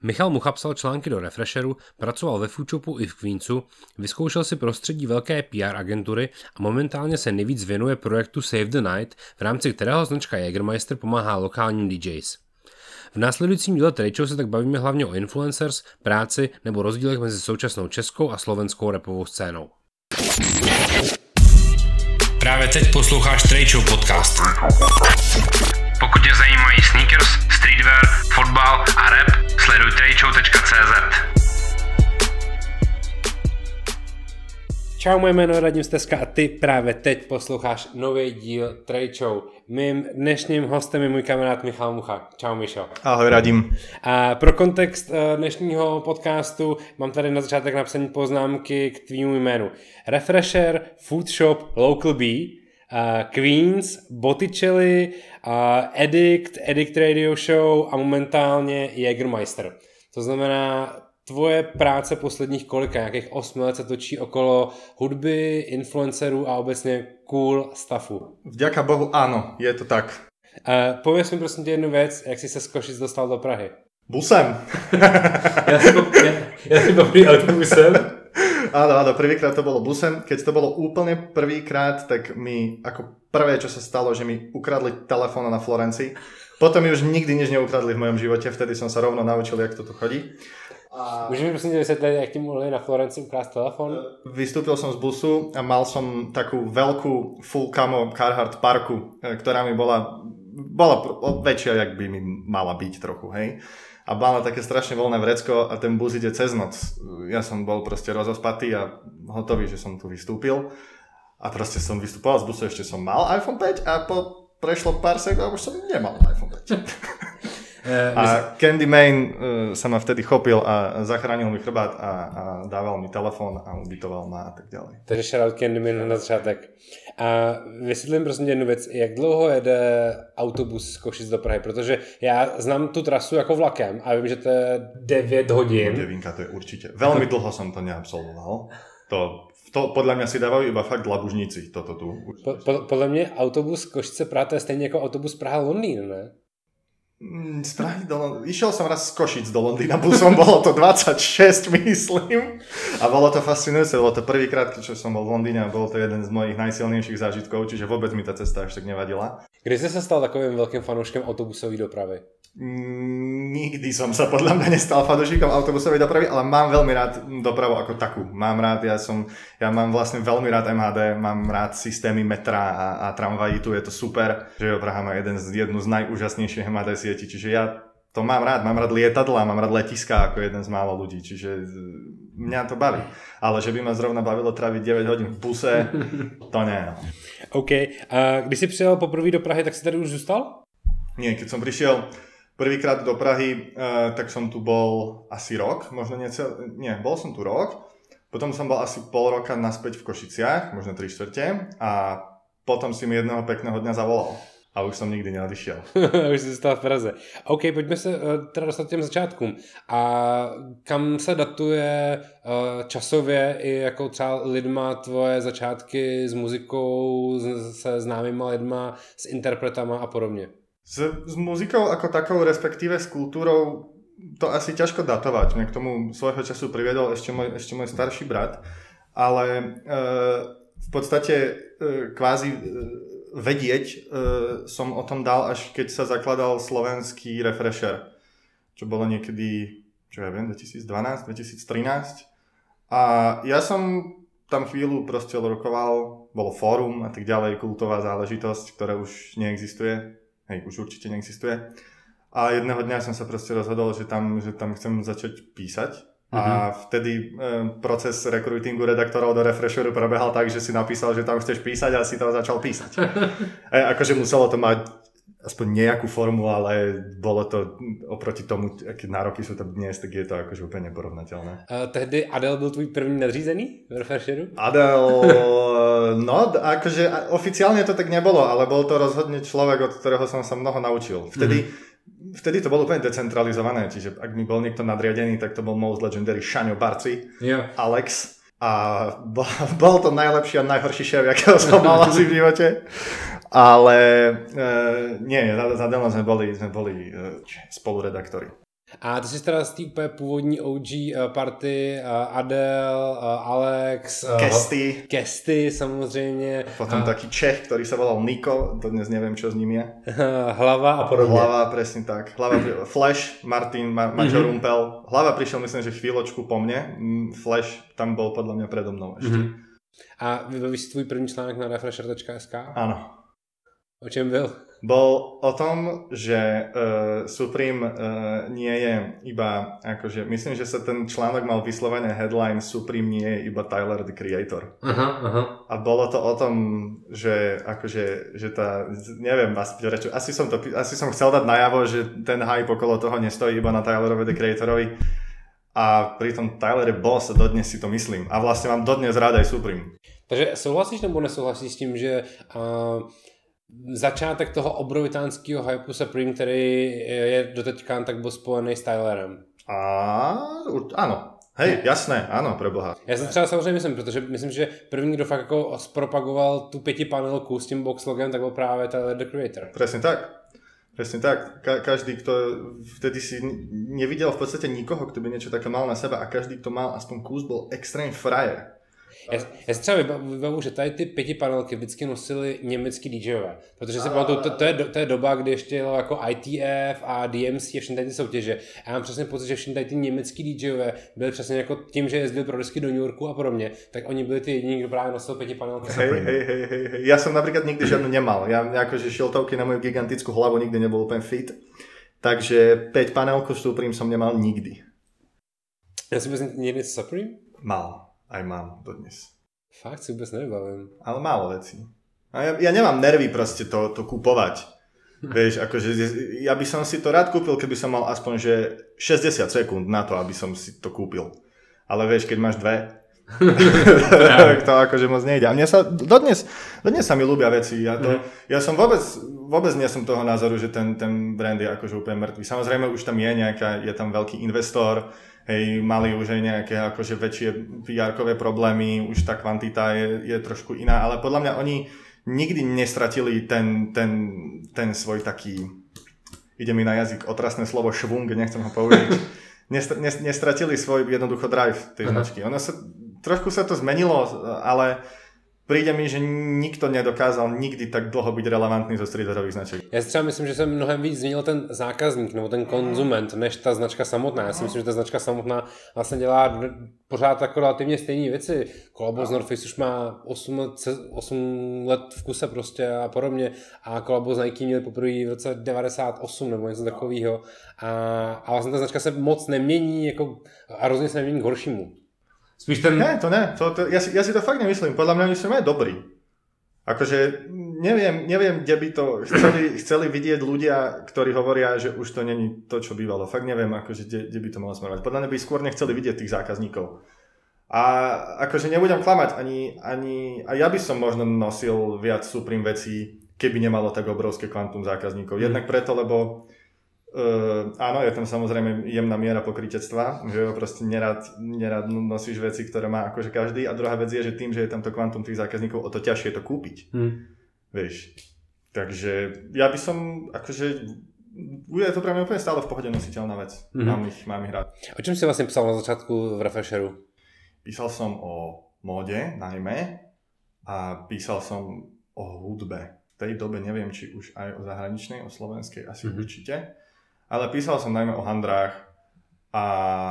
Michal Mucha psal články do Refresheru, pracoval ve Foodshopu i v Queensu, vyzkoušel si prostředí velké PR agentury a momentálně se nejvíc věnuje projektu Save the Night, v rámci kterého značka Jägermeister pomáhá lokálním DJs. V následujícím díle Trade Show se tak bavíme hlavně o influencers, práci nebo rozdílech mezi současnou českou a slovenskou rapovou scénou. Právě teď posloucháš Trade Show podcast. Pokud tě zajímají sneakers, streetwear, fotbal a rap, sleduj tradeshow.cz. Čau, moje jméno je Radim Steska a ty právě teď posloucháš nový díl Trade Show. Mým dnešním hostem je můj kamarád Michal Mucha. Čau, Mišo. Ahoj, Radim. A pro kontext dnešního podcastu mám tady na začátek napsané poznámky k tvýmu jménu. Refresher, Foodshop, Local B, Queens, Botticelli, Addict Radio Show a momentálně Jägermeister. To znamená, tvoje práce posledních nějakých 8 let se točí okolo hudby, influencerů a obecně cool staffu. Vďaka Bohu, áno, je to tak. Pověz mi prosím tě jednu věc, jak jsi se z Košic dostal do Prahy? Busem. ja si popri autobusem. Áno, prvýkrát to bolo busem. Keď to bolo úplne prvýkrát, tak mi ako prvé, čo sa stalo, že mi ukradli telefón na Florencii. Potom mi už nikdy nič neukradli v mojom živote, vtedy som sa rovno naučil, jak to tu chodí. Můžeš mi prosím vysvětlit, jak ti mohli na Florenci ukrást telefon? Vystúpil som z busu a mal som takú veľkú full camo Carhartt parku, ktorá mi bola väčšia, jak by mi mala byť trochu, hej. A mala také strašne voľné vrecko a ten bus ide cez noc. Ja som bol proste rozospatý a hotový, že som tu vystúpil. A proste som vystupoval z busu, ešte som mal iPhone 5 a prešlo pár sekúnd a už som nemal iPhone 5. A Candyman sa ma vtedy chopil a zachránil mi chrbát a dával mi telefon a ubytoval ma a tak ďalej. Takže shoutout Candyman na začátek. A vysvětlím prosím jednu věc, jak dlouho jede autobus z Košic do Prahy, protože já znám tu trasu jako vlakem a vím, že to je 9 hodin. 9, to je určite. Veľmi dlho som to neabsolvoval. To podľa mňa si dávajú iba fakt labužníci toto tu. Podľa mňa autobus Košice Praha to je stejně jako autobus Praha-Londýn, ne? Z Prahy do Londýna. Išiel som raz z Košic do Londýna busom, bolo to 26, myslím. A bolo to fascinujúce, bolo to prvýkrát, keď som bol v Londýne a bol to jeden z mojich najsilnejších zážitkov, čiže vôbec mi tá cesta až tak nevadila. Kdy si sa stal takovým veľkým fanúškem autobusovej dopravy? Nikdy som sa podľa mňa nestal fanúšikom autobusovej dopravy, ale mám veľmi rád dopravu ako takú. Ja mám vlastne veľmi rád MHD, mám rád systémy metra a tramvají, tu je to super, že Praha má jednu z najúžasnejších MHD sietí, čiže ja to mám rád lietadla, mám rád letiská ako jeden z málo ľudí, čiže mňa to baví. Ale že by ma zrovna bavilo tráviť 9 hodín v buse, to nie. OK, a když si přijel poprvé do Prahy, tak si tady už zůstal? Nie, keď som prišiel prvýkrát do Prahy, tak som tu bol asi rok, možno bol som tu rok, potom som bol asi pol roka naspäť v Košiciach, možno 3/4 a potom si mi jedného pekného dňa zavolal a už som nikdy neodišiel. Už si zostal v Praze. OK, pojďme se teda dostat těm začátkům. A kam se datuje časově i jako třeba lidma tvoje začátky s muzikou, se známýma lidma, s interpretama a podobně? S muzikou ako takou, respektíve s kultúrou, to asi ťažko datovať. Mňa k tomu svojho času priviedol ešte môj starší brat, ale v podstate kvázi vedieť som o tom dal, až keď sa zakladal slovenský Refresher, čo bolo niekedy, 2012, 2013. A ja som tam chvíľu proste rokoval, bolo fórum a tak ďalej, kultová záležitosť, ktorá už neexistuje. Už určite neexistuje. A jedného dňa som sa proste rozhodol, že tam chcem začať písať. A vtedy proces rekrutingu redaktorov do Refresheru prebehal tak, že si napísal, že tam chceš písať a si to začal písať. Akože muselo to mať aspoň nejakú formu, ale bolo to oproti tomu, aké nároky sú to dnes, tak je to akože úplne neporovnateľné. Tehdy Adel byl tvůj první nadřízený v Refresheru? Adel, no akože oficiálne to tak nebolo, ale bol to rozhodne človek, od ktorého som sa mnoho naučil. Vtedy to bolo úplne decentralizované, čiže ak mi bol niekto nadriadený, tak to bol most legendary Šaňo Barci, Alex. A bol to najlepší a najhorší šéf, akého som mal asi v živote. Ale nie, za Delno sme boli spoluredaktori. A ty jsi teda z té úplně původní OG party, Adele, Alex, Kesty samozřejmě. Potom taký Čech, ktorý sa volal Niko, dodnes neviem, čo s ním je. Hlava a podobne. Hlava, presne tak. Flash, Martin, Maťo Rumpel. Hlava prišiel, myslím, že chvíľočku po mne. Flash tam bol podľa mňa predo mnou ešte. A vybavíš si tvůj první článek na refresher.sk? Áno. O čem byl? Bol o tom, že Supreme nie je iba, akože, myslím, že sa ten článok mal vyslovene headline Supreme nie je iba Tyler, the Creator. A bolo to o tom, že akože, že tá, neviem, asi som chcel dať najavo, že ten hype okolo toho nestojí iba na Tylerovi, the Creatorovi. A pritom Tyler je boss a dodnes si to myslím. A vlastne mám dodnes rád aj Supreme. Takže souhlasíš nebo nesouhlasíš s tím, že začátek toho obrovitánského hypu Supreme, který je doteďka, tak byl spojený s Tylerem? Áno. Hej, jasné, áno, preboha. Já si třeba samozřejmě myslím, protože myslím, že první, kdo fakt jako zpropagoval tu 5panelku s tím boxlogem, tak byl právě Tyler, the Creator. Presne tak. Každý, kto vtedy si nevidel v podstate nikoho, kto by niečo také mal na sebe a každý, kto mal aspoň kus, bol extrém frajer. Já si třeba vybavu, že tady ty 5panelky vždycky nosili německý DJové, protože si pamatuju, to je doba, kdy ještě jelo jako ITF a DMC a všechny ty soutěže. A já mám přesně pocit, že všechny tady ty německý DJové byli přesně jako tím, že jezdili pro disky do New Yorku a podobně, tak oni byli ty jediní, kdo právě nosil 5panelky. Hej. Ja som napríklad nikdy žiadnu nemal. Ja akože šiltovky na moju gigantickú hlavu nikdy nebol úplne fit. Takže 5panelku Supreme som nemal nikdy. Já si myslím, někdy Supreme? Mal. Aj mám dodnes. Fakt si vôbec nevybavím. Ale málo vecí. A ja nemám nervy proste to kupovať. Vieš, akože ja by som si to rád kúpil, keby som mal aspoň že 60 sekúnd na to, aby som si to kúpil. Ale vieš, keď máš dve, tak to akože moc nejde. A mne sa dodnes sa mi ľúbia veci. Ja som vôbec nie som toho názoru, že ten brand je akože úplne mŕtvý. Samozrejme už tam je tam veľký investor. Hej, mali už aj nejaké akože väčšie PR-kové problémy, už tá kvantita je trošku iná, ale podľa mňa oni nikdy nestratili ten svoj taký, ide mi na jazyk otrasné slovo švung, nechcem ho použiť, nestratili svoj jednoducho drive tej značky. Trošku sa to zmenilo, ale príde mi, že nikto nedokázal nikdy tak dlho byť relevantný zo streetwearových značek. Já si třeba myslím, že se mnohem víc změnil ten zákazník nebo ten konzument, než ta značka samotná. Já si myslím, že ta značka samotná vlastně dělá pořád jako relativně stejné věci. Kolabo z North Face už má 8 let v kuse prostě a podobně. A kolabo z Nike měli poprvé v roce 98 nebo něco takového. A vlastně ta značka se moc nemění jako, a hrozně se nemění k horšímu. Spíš ten... Ne, to ne. Ja si to fakt nemyslím. Podľa mňa oni sú aj dobrí. Akože neviem, kde by to chceli vidieť ľudia, ktorí hovoria, že už to není to, čo bývalo. Fakt neviem, akože kde by to malo smerovať. Podľa mňa by skôr nechceli vidieť tých zákazníkov. A akože nebudem klamať, ani a ja by som možno nosil viac Supreme vecí, keby nemalo tak obrovské kvantum zákazníkov. Jednak preto, lebo áno, je tam samozrejme jemná miera pokrytectva, že proste nerad nosíš veci, ktoré má akože každý, a druhá vec je, že tým, že je tam to kvantum tých zákazníkov, o to ťažšie to kúpiť. Vieš. Takže ja by som akože je to pre mňa úplne stále v pohode nositeľná vec. Mám ich rád. O čom si vlastne písal na začiatku v Refresheru? Písal som o móde najmä a písal som o hudbe. V tej dobe neviem, či už aj o zahraničnej, o slovenskej asi určite. Ale písal som najmä o handrách a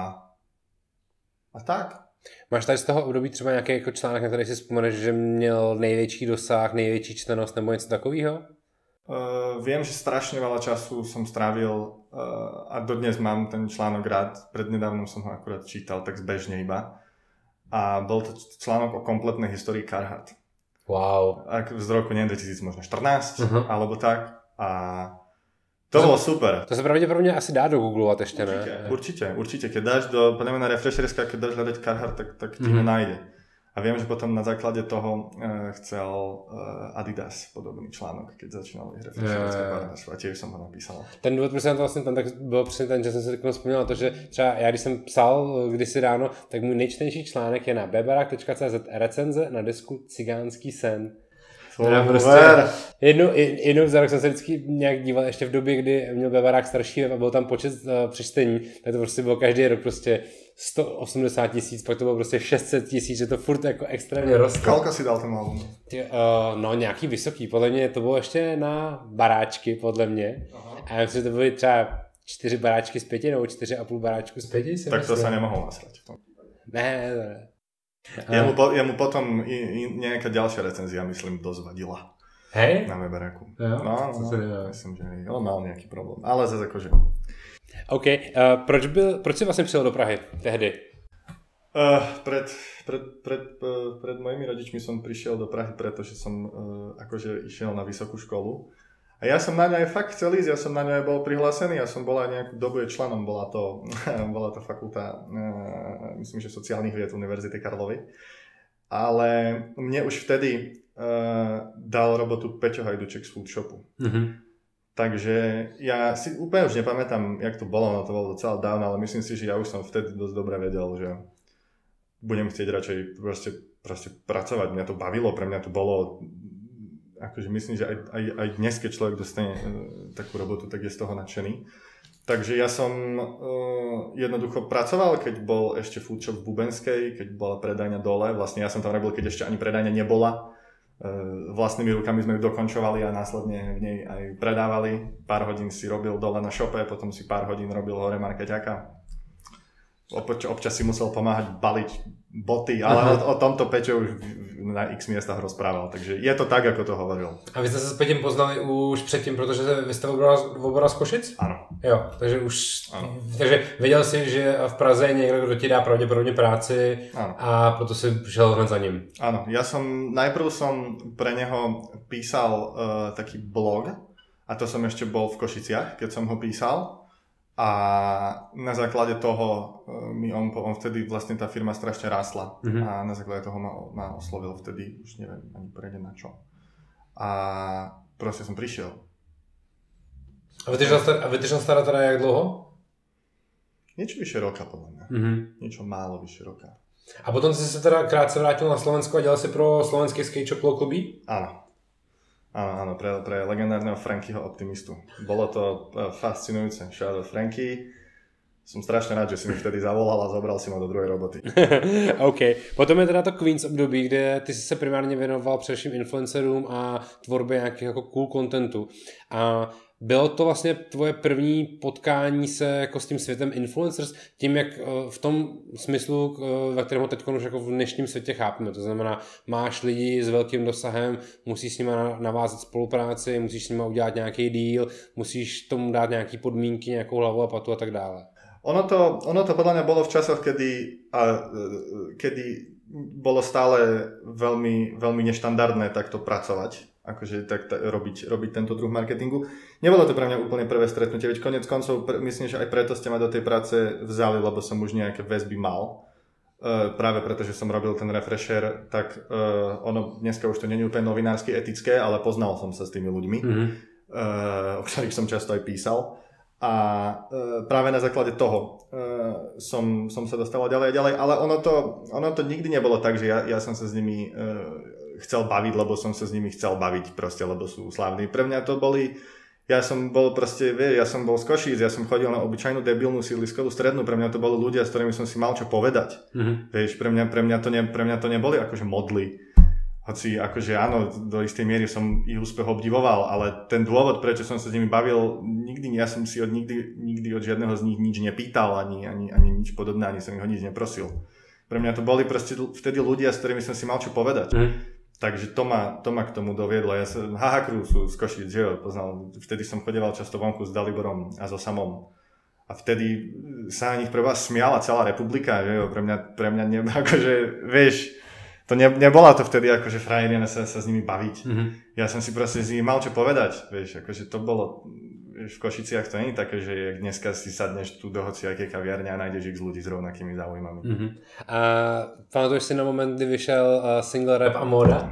tak. Máš tady z toho období třeba nějaký jako článek, na který si vzpomeneš, že měl největší dosah, největší čtenost nebo něco takového? Viem, že strašne veľa času som strávil a dodnes mám ten článok rád. Prednedávnom som ho akurát čítal tak zbežne iba. A bol to článok o kompletnej histórii Carhartt. Wow. Z roku, neviem, 2014 alebo tak. A to bolo super. To sa pravdepodobne asi dá dogooglovat ešte, ne? Určite. Keď dáš podľa mňa na Refresherska, keď dáš hľadať Carhartt, tak ti ho nájde. A viem, že potom na základe toho chcel Adidas podobný článok, keď začínal Refresherska a tiež som ho napísal. Ten důvod, proč jsem to vlastně tam, tak bylo přesně ten, že jsem si takovou vzpomněl to, že třeba já, když jsem psal kdysi ráno, tak můj nejčtenější článek je na bebarak.cz recenze na desku Cigánský sen. Jednou za rok jsem se vždycky nějak díval, ještě v době, kdy měl Bevarák starší web a byl tam počet přečtení, tak to prostě bylo každý rok prostě 180 000, pak to bylo prostě 600 000, že to furt jako extrémně rostlo. Koľko si dal ten album? No nějaký vysoký, podle mě to bylo ještě na baráčky, podle mě. Aha. A já myslím, že to byly třeba 4 baráčky z 5 nebo 4,5 baráčku z 5. Tak to sa nemohol nasrať. Ne. Jemu potom nejaká ďalšia recenzia, myslím, dosť vadila. Hej? Na Weberáku. No, myslím, že on mal nejaký problém. Ale zase akože... OK. Proč si vlastne přijel do Prahy tehdy? Pred mojimi rodičmi som prišiel do Prahy, pretože som akože išiel na vysokú školu. A ja som na ňu aj fakt chcel ísť, ja som na ňu aj bol prihlásený, ja som bol aj nejakú dobu členom, bola to fakulta, myslím, že sociálnych vied Univerzity Karlovy. Ale mne už vtedy dal robotu Peťo Hajduček z Foodshopu. Mm-hmm. Takže ja si úplne už nepamätám, jak to bolo, no to bolo docela dávno, ale myslím si, že ja už som vtedy dosť dobre vedel, že budem chcieť radšej proste pracovať. Mňa to bavilo, pre mňa to bolo... Akože myslím, že aj dnes, keď človek dostane takú robotu, tak je z toho nadšený. Takže ja som jednoducho pracoval, keď bol ešte Foodshop v Bubenskej, keď bola predajňa dole. Vlastne ja som tam robil, keď ešte ani predajňa nebola. Vlastnými rukami sme ju dokončovali a následne v nej aj predávali. Pár hodín si robil dole na šope, potom si pár hodín robil hore markeťaka. Občas si musel pomáhať baliť boty, ale o tomto Peťo už na x miestach rozprával, takže je to tak, ako to hovoril. A vy jste se s Peťem poznali už předtím, protože vy jste oboral z Košic? Ano. Jo, takže věděl jsi, že v Praze je někdo, kdo ti dá pravděpodobně práci. Ano. A proto si přišel hned za ním. Áno, najprv som pre neho písal taký blog a to som ešte bol v Košiciach, keď som ho písal. A na základe toho on vtedy vlastne tá firma strašne rástla. Mm-hmm. A na základe toho ma oslovil vtedy, už neviem ani prejde na čo. A proste som prišiel. A vydržal stará teda jak dlouho? Niečo vyše roka podľa mňa. Mm-hmm. Niečo málo vyše roka. A potom si sa teda krátce vrátil na Slovensko a dělal si pro slovenský skate shop Local B? Áno, pre legendárneho Frankyho optimistu. Bolo to fascinujúce. Shout out Franky. Som strašne rád, že si mi vtedy zavolal a zobral si ma do druhej roboty. OK. Potom je teda to Queens období, kde ty jsi se primárně věnoval především influencerům a tvorbě nějakých jako cool contentu. A bylo to vlastně tvoje první potkání se jako s tím světem influencers, tím jak v tom smyslu, ve kterém ho teď už jako v dnešním světě chápeme. To znamená, máš lidi s velkým dosahem, musíš s nimi navázat spolupráci, musíš s nimi udělat nějaký deal, musíš tomu dát nějaký podmínky, nějakou hlavu a patu a tak dále. Ono to podľa mňa bolo v časoch, kedy bolo stále veľmi, veľmi neštandardné takto pracovať, akože robiť tento druh marketingu. Nebolo to pre mňa úplne prvé stretnutie, veď konec koncov myslím, že aj preto ste ma do tej práce vzali, lebo som už nejaké väzby mal. Práve preto, že som robil ten refresher, tak ono dneska už to nie je úplne novinársky etické, ale poznal som sa s tými ľuďmi, o ktorých som často aj písal. A práve na základe toho som sa dostal ďalej a ďalej, ale ono to nikdy nebolo tak, že ja som sa s nimi chcel baviť, lebo som sa s nimi chcel baviť proste, lebo sú slávni. Pre mňa to boli, ja som bol z Košíc, ja som chodil na obyčajnú debilnú sídliskovú strednú, pre mňa to boli ľudia, s ktorými som si mal čo povedať. Mm-hmm. Vieš, pre mňa to neboli akože modly. Hoci akože áno, do istej miery som ich úspech obdivoval, ale ten dôvod, prečo som sa s nimi bavil, ja som si nikdy od žiadneho z nich nič nepýtal, ani nič podobné, ani som ich o nič neprosil. Pre mňa to boli proste vtedy ľudia, s ktorými som si mal čo povedať. Takže to ma k tomu doviedlo. Ja som Crew sú z Košíc, že jo, poznal. Vtedy som chodieval často vonku s Daliborom a so Samom. A vtedy sa na nich pre vás smiala celá republika, že jo, pre mňa akože, vieš, to nebola to vtedy akože frajerina sa s nimi baviť. Mm-hmm. Ja som si proste s nimi mal čo povedať, vieš, akože to bolo, vieš, v Košiciach to nie je také, že jak dneska si sadneš tu do hociakej kaviarne a nájdeš x ľudí s rovnakými záujmami. Mm-hmm. A pamatuješ si na moment, kdy vyšel single Rap a móda?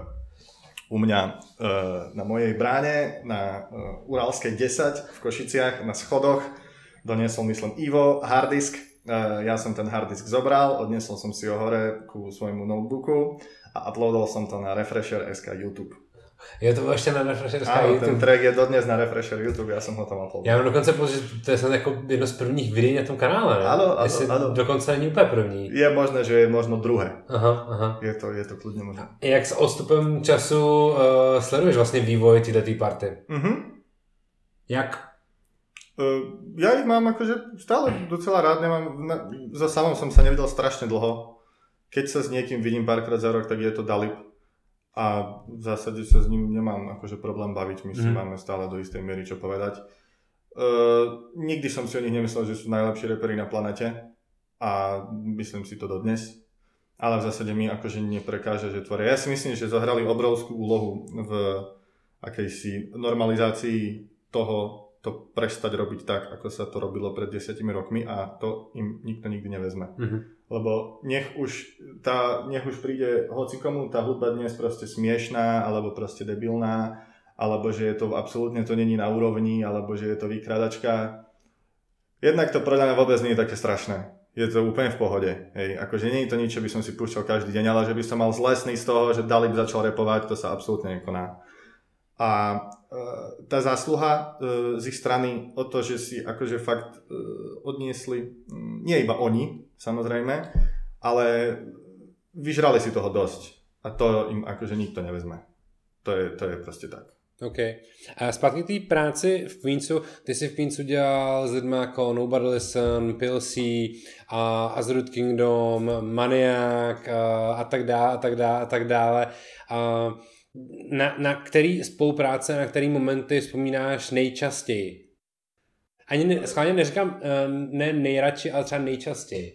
U mňa na mojej bráne, na Uralskej 10 v Košiciach, na schodoch, doniesol, myslím, Ivo harddisk. Ja som ten harddisk zobral, odnesol som si ho hore ku svojmu notebooku a uploadol som to na Refresher.sk YouTube. Jo, to bylo ještě na Refresherská Áno, YouTube. ten track je dodnes na Refresher YouTube, ja som ho tam uploadil. Já mám dokonce pocit, že to je snad jako jedno z prvních videí na tom kanále, ne? Áno. Dokonce není úplně první. Je možné, že je možno druhé. Aha. Je to kľudne možné. Jak s odstupem času sleduješ vlastně vývoj této party? Jak? Ja ich mám akože stále docela rád, so Samom som sa nevidel strašne dlho. Keď sa s niekým vidím párkrát za rok, tak je to Dalip. A v zásade sa s ním nemám akože problém baviť, my si máme stále do istej miery čo povedať. Nikdy som si o nich nemyslel, že sú najlepší reperi na planete a myslím si to dodnes. Ale v zásade mi akože neprekáže, že tvoria. Ja si myslím, že zohrali obrovskú úlohu v akejsi normalizácii toho, to prestať robiť tak, ako sa to robilo pred 10 rokmi a to im nikto nikdy nevezme. Lebo nech už príde hocikomu tá hudba dnes proste smiešná, alebo proste debilná, alebo že je to absolútne to není na úrovni, alebo že je to vykradačka. Jednak to podľa mňa vôbec nie je také strašné. Je to úplne v pohode. Hej. Akože nie je to nič, čo by som si púšťal každý deň, ale že by som mal zlesný z toho, že Dalip začal repovať, to sa absolútne nekoná. A tá zásluha z ich strany o to, že si akože fakt odniesli, nie iba oni, samozrejme, ale vyžrali si toho dosť. A to im akože nikto nevezme. To je proste tak. OK. A zpátky k té práci v Queensu, ty jsi v Queensu dělal s lidmi jako Nobody Listen, Pilsy, Azurut Kingdom, Maniac a tak dále. Na který spolupráce, na který momenty vzpomínáš nejčastěji? Ani schválně neříkám ne nejradši, ale třeba nejčastěji.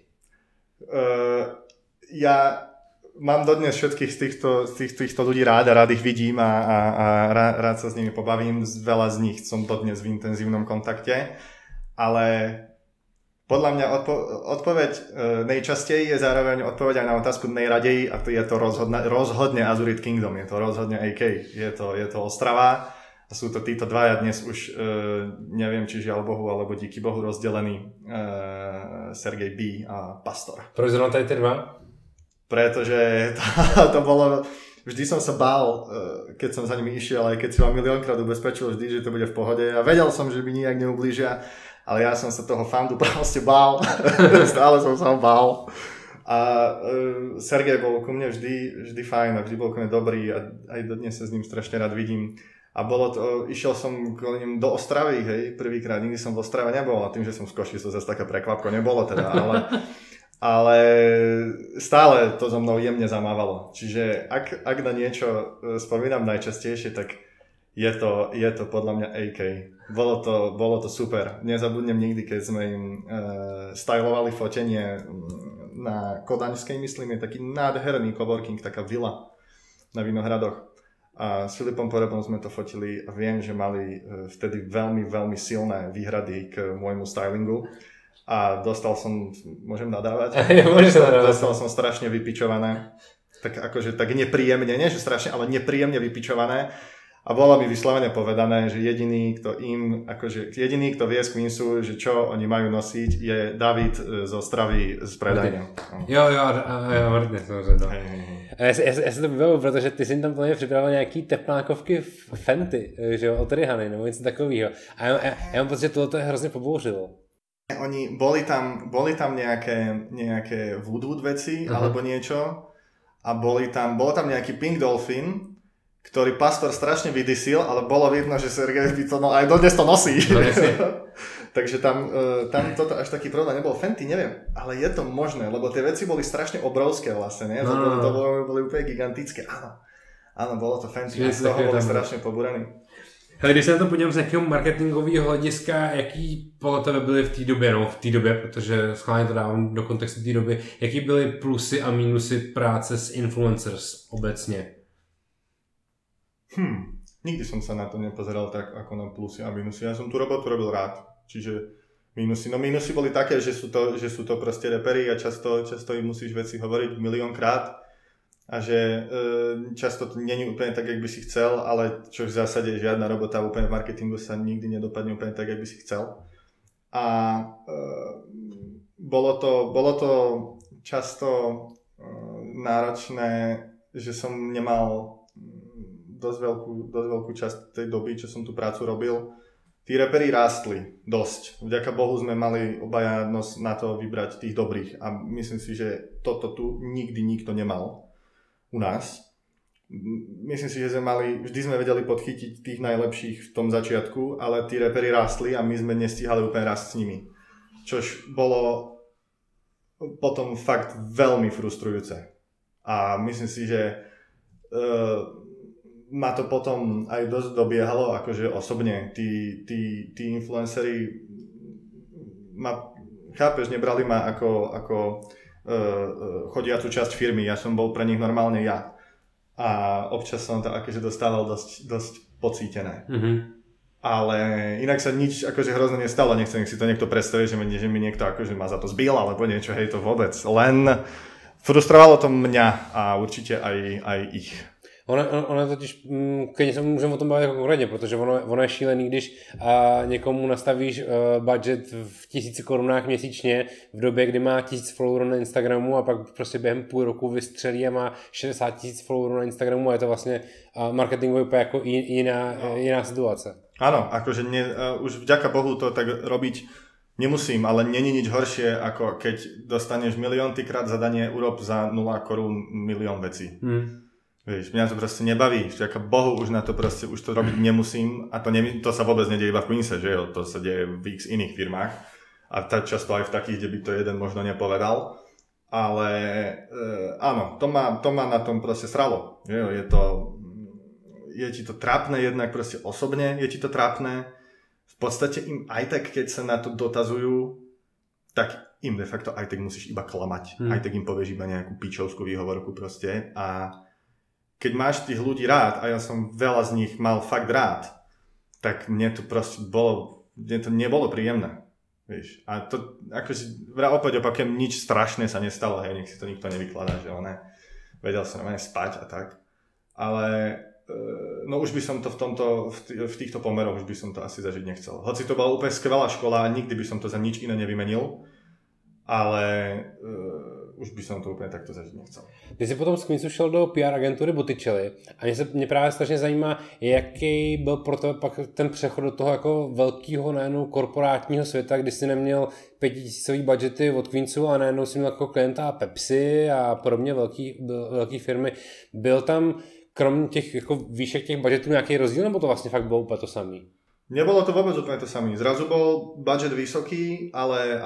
Ja mám dodnes všetkých z týchto ľudí rád a rád ich vidím a rád sa s nimi pobavím. Veľa z nich som dodnes v intenzívnom kontakte, ale podľa mňa odpoveď nejčastej je zároveň odpoveď aj na otázku nejradeji a to je to rozhodne Azurit Kingdom, je to rozhodne AK, je to Ostrava a sú to títo dvaja dnes už neviem či žiaľ Bohu alebo díky Bohu rozdelení Sergej B a Pastor. Proč zrovna tady ty dva? Pretože to bolo, vždy som sa bál, keď som za nimi išiel, aj keď si ma miliónkrát ubezpečil vždy, že to bude v pohode a vedel som, že by nijak neublížia, ale ja som sa toho fandu proste bál, stále som sa ho bál. A Sergej bol ku mne vždy fajn a vždy bol ku mne dobrý a aj dodnes sa s ním strašne rád vidím. A išiel som kvôli ním do Ostravy, hej, prvýkrát, nikdy som v Ostrave nebol a tým, že som z Košic, to zase taká prekvapko nebolo teda, ale stále to so mnou jemne zamávalo. Čiže ak na niečo spomínam najčastejšie, tak je to podľa mňa AK. Bolo to super. Nezabudnem nikdy, keď sme im stylovali fotenie na Kodaňskej, myslím, je taký nádherný coworking, taká vila na Vinohradoch. A s Filipom Porebom sme to fotili a viem, že mali vtedy veľmi, veľmi silné výhrady k môjmu stylingu. A dostal som, môžem nadávať? Dostal som strašne vypičované. Tak akože tak nepríjemne, nie že strašne, ale nepríjemne vypičované. A bolo mi vyslovene povedané, že jediný, kto vie z Queensu, že čo oni majú nosiť, je David z Ostravy z predajne. Jo, Martin, samozřejmě. Já se to vybavu, protože ty jsi tam plně připravil nějaký teplákovky Fenty, že jo, od Rihany, nebo něco takového. A já mám pocit, že tohle je hrozně pobouřilo. Oni boli tam nejaké voodoo veci, alebo niečo a bolo tam nejaký Pink Dolphin, ktorý Pastor strašne vydysil, ale bolo vidno, že Sergej by to aj dodnes to nosí. Takže tam toto až taký problém nebol. Fenty, neviem, ale je to možné, lebo tie veci boli strašne obrovské vlastne, ne? To boli úplne gigantické. Áno, bolo to Fenty, a z toho boli strašne pobúrení. Hele, když se na to podívám z nějakého marketingového hlediska, jaký podle tebe byly v té době, protože schválně to dávám do kontextu té doby, jaký byly plusy a mínusy práce s influencers obecně? Nikdy som sa na to nepozeral tak ako na plusy a minusy. Ja som tú robotu robil rád. Čiže minusy boli také, že sú to proste reperi a často im musíš veci hovoriť miliónkrát a že často to nie je úplne tak, jak by si chcel, ale čo v zásade žiadna robota úplne v marketingu sa nikdy nedopadne úplne tak, jak by si chcel. A bolo to často náročné, že som nemal dosť veľkú časť tej doby, čo som tú prácu robil. Tí reperi rástli dosť. Vďaka Bohu sme mali obaja na to vybrať tých dobrých a myslím si, že toto tu nikdy nikto nemal u nás. Myslím si, že vždy sme vedeli podchytiť tých najlepších v tom začiatku, ale tí reperi rástli a my sme nestíhali úplne rásť s nimi. Čož bolo potom fakt veľmi frustrujúce. A myslím si, že ma to potom aj dosť dobiehalo, akože osobne. Tí influenceri chápeš, nebrali ma ako chodiacu časť firmy. Ja som bol pre nich normálne ja. A občas som to akože dostával dosť pocítené. Mm-hmm. Ale inak sa nič akože hrozne nestalo, nechcem si to niekto predstaviť, že mi niekto akože ma za to zbil, alebo niečo, hej, to vôbec. Len frustrovalo to mňa a určite aj ich. Ono totiž, klidně se můžeme o tom bavit jako konkrétně, protože ono je šílený, když někomu nastavíš budget v 1000 korunách měsíčně v době, kdy má 1000 followerů na Instagramu a pak prostě během půl roku vystřelí a má 60 000 followerů na Instagramu a je to vlastně marketingově úplně jako jiná situace. Áno, akože už vďaka Bohu to tak robiť nemusím, ale není nič horšie, ako keď dostaneš milióntykrát zadanie urob za 0 korún milión vecí. Vieš, mňa to proste nebaví, vďaka Bohu už na to proste, už to robiť nemusím a to sa vôbec nedieje iba v Queense, že jo, to sa deje v x iných firmách a často aj v takých, kde by to jeden možno nepovedal, ale áno, to ma na tom proste sralo, že jo, je ti to trápne jednak proste osobne, je ti to trápne, v podstate im aj tak, keď sa na to dotazujú, tak im de facto aj tak musíš iba klamať, aj tak im povieš iba nejakú píčovskú výhovorku proste a keď máš tých ľudí rád, a ja som veľa z nich mal fakt rád, tak mne to nebolo príjemné. Vieš. A to, akože, opäť opakujem, nič strašné sa nestalo, hej, nech si to nikto nevykladá, že vedel som normálne spať a tak. Ale, no už by som to v týchto pomeroch, už by som to asi zažiť nechcel. Hoci to bola úplne skvelá škola a nikdy by som to za nič iné nevymenil, ale už by som to úplně takto zažít nechcel. Ty jsi potom z Queensu šel do PR agentury Botticelli a mě právě strašně zajímá, jaký byl pro tebe pak ten přechod do toho jako velkého najednou korporátního světa, kdy jsi neměl 5000 budgety od Queensu a najednou jsi měl jako klienta Pepsi a podobně velký firmy. Byl tam kromě těch jako výšek těch budgetů nějaký rozdíl, nebo to vlastně fakt bylo úplně to samý? Nebolo to vôbec úplne to samý. Zrazu bol budget vysoký, ale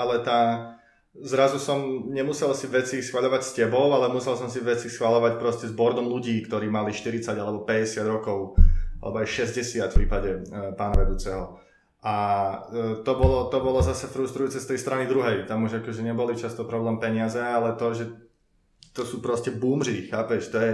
zrazu som nemusel si veci schvaľovať s tebou, ale musel som si veci schvaľovať proste s boardom ľudí, ktorí mali 40 alebo 50 rokov, alebo aj 60 v prípade pána vedúceho. A to bolo zase frustrujúce z tej strany druhej. Tam už akože neboli často problém peniaze, ale to, že to sú proste boomři, chápeš? To je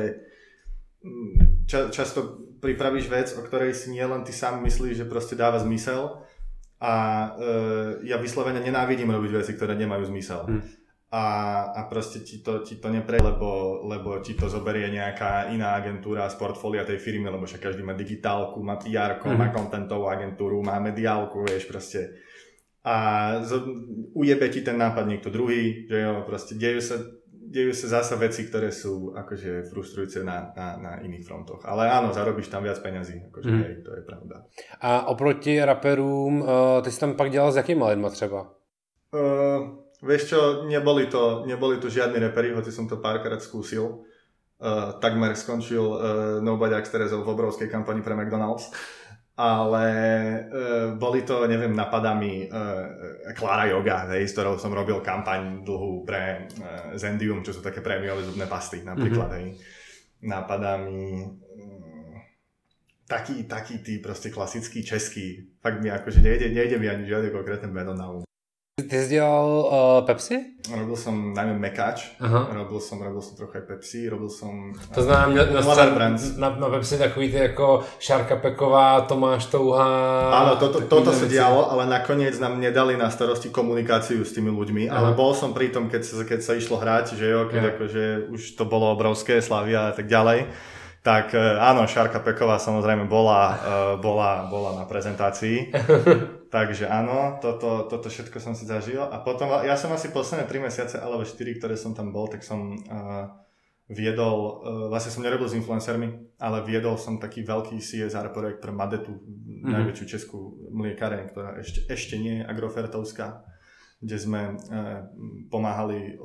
často pripravíš vec, o ktorej si nielen ty sám myslíš, že proste dáva zmysel a ja vyslovene nenávidím robiť veci, ktoré nemajú zmysel. A proste ti to nepre, lebo ti to zoberie nejaká iná agentúra z portfólia tej firmy, lebo však každý má digitálku, má PR-ko, má contentovú agentúru, má mediálku, vieš, proste. A ujebe ti ten nápad niekto druhý, že jo, proste dejú sa zasa veci, ktoré sú akože frustrujúce na iných frontoch. Ale áno, zarobíš tam viac peňazí, akože hej, to je pravda. A oproti raperům, ty si tam pak dělal s jakýma lidma třeba? Vieš čo, neboli to žiadni reperi, hoci som to párkrát skúsil. Takmer skončil Nobody Axe Terezov v obrovskej kampani pre McDonald's. Ale boli to, neviem, napadami Klára Yoga, hej, s ktorou som robil kampaň dlhú pre Zendium, čo sú také prémiové zubné pasty napríklad, hej. Napadami taký tí proste klasický český, fakt mi akože nejde mi ani žiadne konkrétne meno na um. Ty jsi dělal Pepsi? Robil som najmä Mekáč, robil som trochu aj Pepsi, robil som... To znamená, měl na Pepsi takový ty jako Šárka Peková, Tomáš Touha... Áno, toto sa dialo, ale nakoniec nám nedali na starosti komunikáciu s tými ľuďmi, ale bol som pri tom, keď sa išlo hrať, že jo, keď akože už to bolo obrovské, Slavia a tak ďalej. Tak áno, Šárka Peková samozrejme bola na prezentácii. Takže áno, toto všetko som si zažil. A potom, ja som asi posledné 3 mesiace alebo 4, ktoré som tam bol, tak som vlastne som nerobil s influencermi, ale viedol som taký veľký CSR projekt pre Madetu, najväčšiu českú mliekareň, ktorá ešte nie je agrofertovská, kde sme pomáhali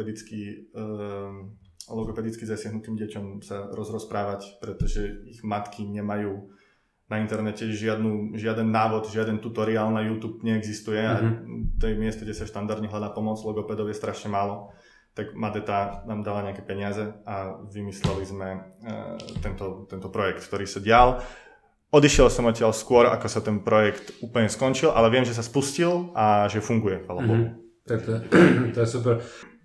logopedicky zasiahnutým deťom sa rozprávať, pretože ich matky nemajú na internete žiaden návod, žiaden tutoriál na YouTube neexistuje a v tej mieste, kde sa štandardne hľadá pomoc, logopedov je strašne málo. Tak Madeta nám dala nejaké peniaze a vymysleli sme tento projekt, ktorý sa dial. Odišiel som odtiaľ skôr, ako sa ten projekt úplne skončil, ale viem, že sa spustil a že funguje, chvála Bohu. Tak to je super.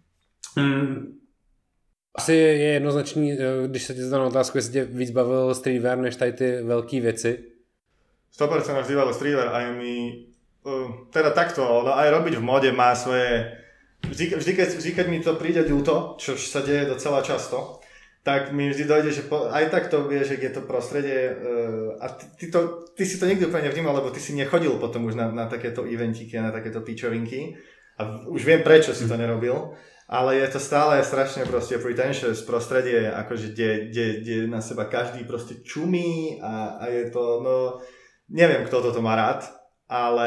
Asi je jednoznačný, když se tě zadám otázku, jestli tě víc bavil streetwear než tady ty velký věci. 100% ma vždy bavil streetwear a je mi teda takto, no aj robiť v móde má svoje. Vždy, keď mi to príde ľúto, čo sa deje docela často, tak mi vždy dojde, že aj tak to vieš, že je to prostredie a ty si to nikdy úplne nevnímal, lebo ty si nechodil potom už na takéto eventíky a na takéto pičovinky a už viem, prečo si to nerobil, ale je to stále strašne proste pretentious prostredie, akože kde na seba každý proste čumí a je to, no neviem, kto toto má rád, ale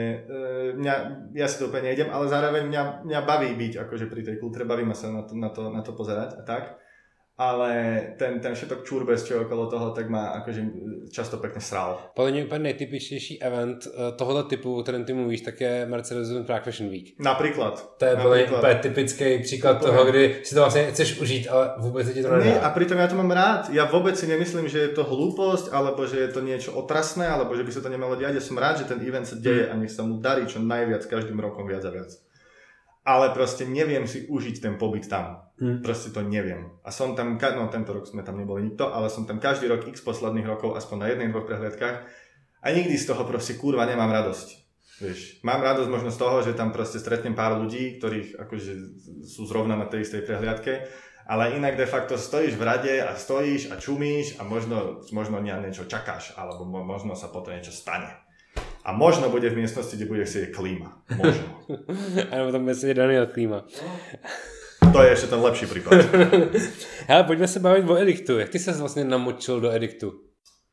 ja si to úplne nejdem, ale zároveň mňa baví byť akože pri tej kultúre, baví ma sa na to pozerať a tak. Ale ten všetok čurbes, čo okolo toho, tak má akože často pekne sral. Podle mě úplně nejtypičtější event tohoto typu, o kterém ty mluvíš, tak je Mercedes-Benz Prague Fashion Week. Napríklad. To je úplně typický příklad toho, kdy si to vlastně chceš užít, ale vůbec ti to nedá. Nie, a pritom ja to mám rád. Ja vôbec si nemyslím, že je to hlúposť, alebo že je to niečo otrasné, alebo že by sa to nemalo diať. Ja som rád, že ten event sa deje a nech sa mu darí čo najviac, každým rokom viac a viac. Ale proste neviem si užiť ten pobyt tam. Proste to neviem. A som tam, no tento rok sme tam neboli nikto, ale som tam každý rok x posledných rokov, aspoň na 1-2 prehliadkách a nikdy z toho proste kurva nemám radosť. Vieš, mám radosť možno z toho, že tam proste stretnem pár ľudí, ktorých akože sú zrovna na tej istej prehliadke, ale inak de facto stojíš v rade a stojíš a čumíš a možno niečo čakáš, alebo možno sa potom niečo stane. A možno bude v miestnosti, kde bude sedieť klíma. Možno. Alebo tam bude sedieť Daniel Klíma. To je ešte ten lepší prípad. Hele, poďme sa baviť o ediktu. Jak ty sa vlastne namočil do ediktu?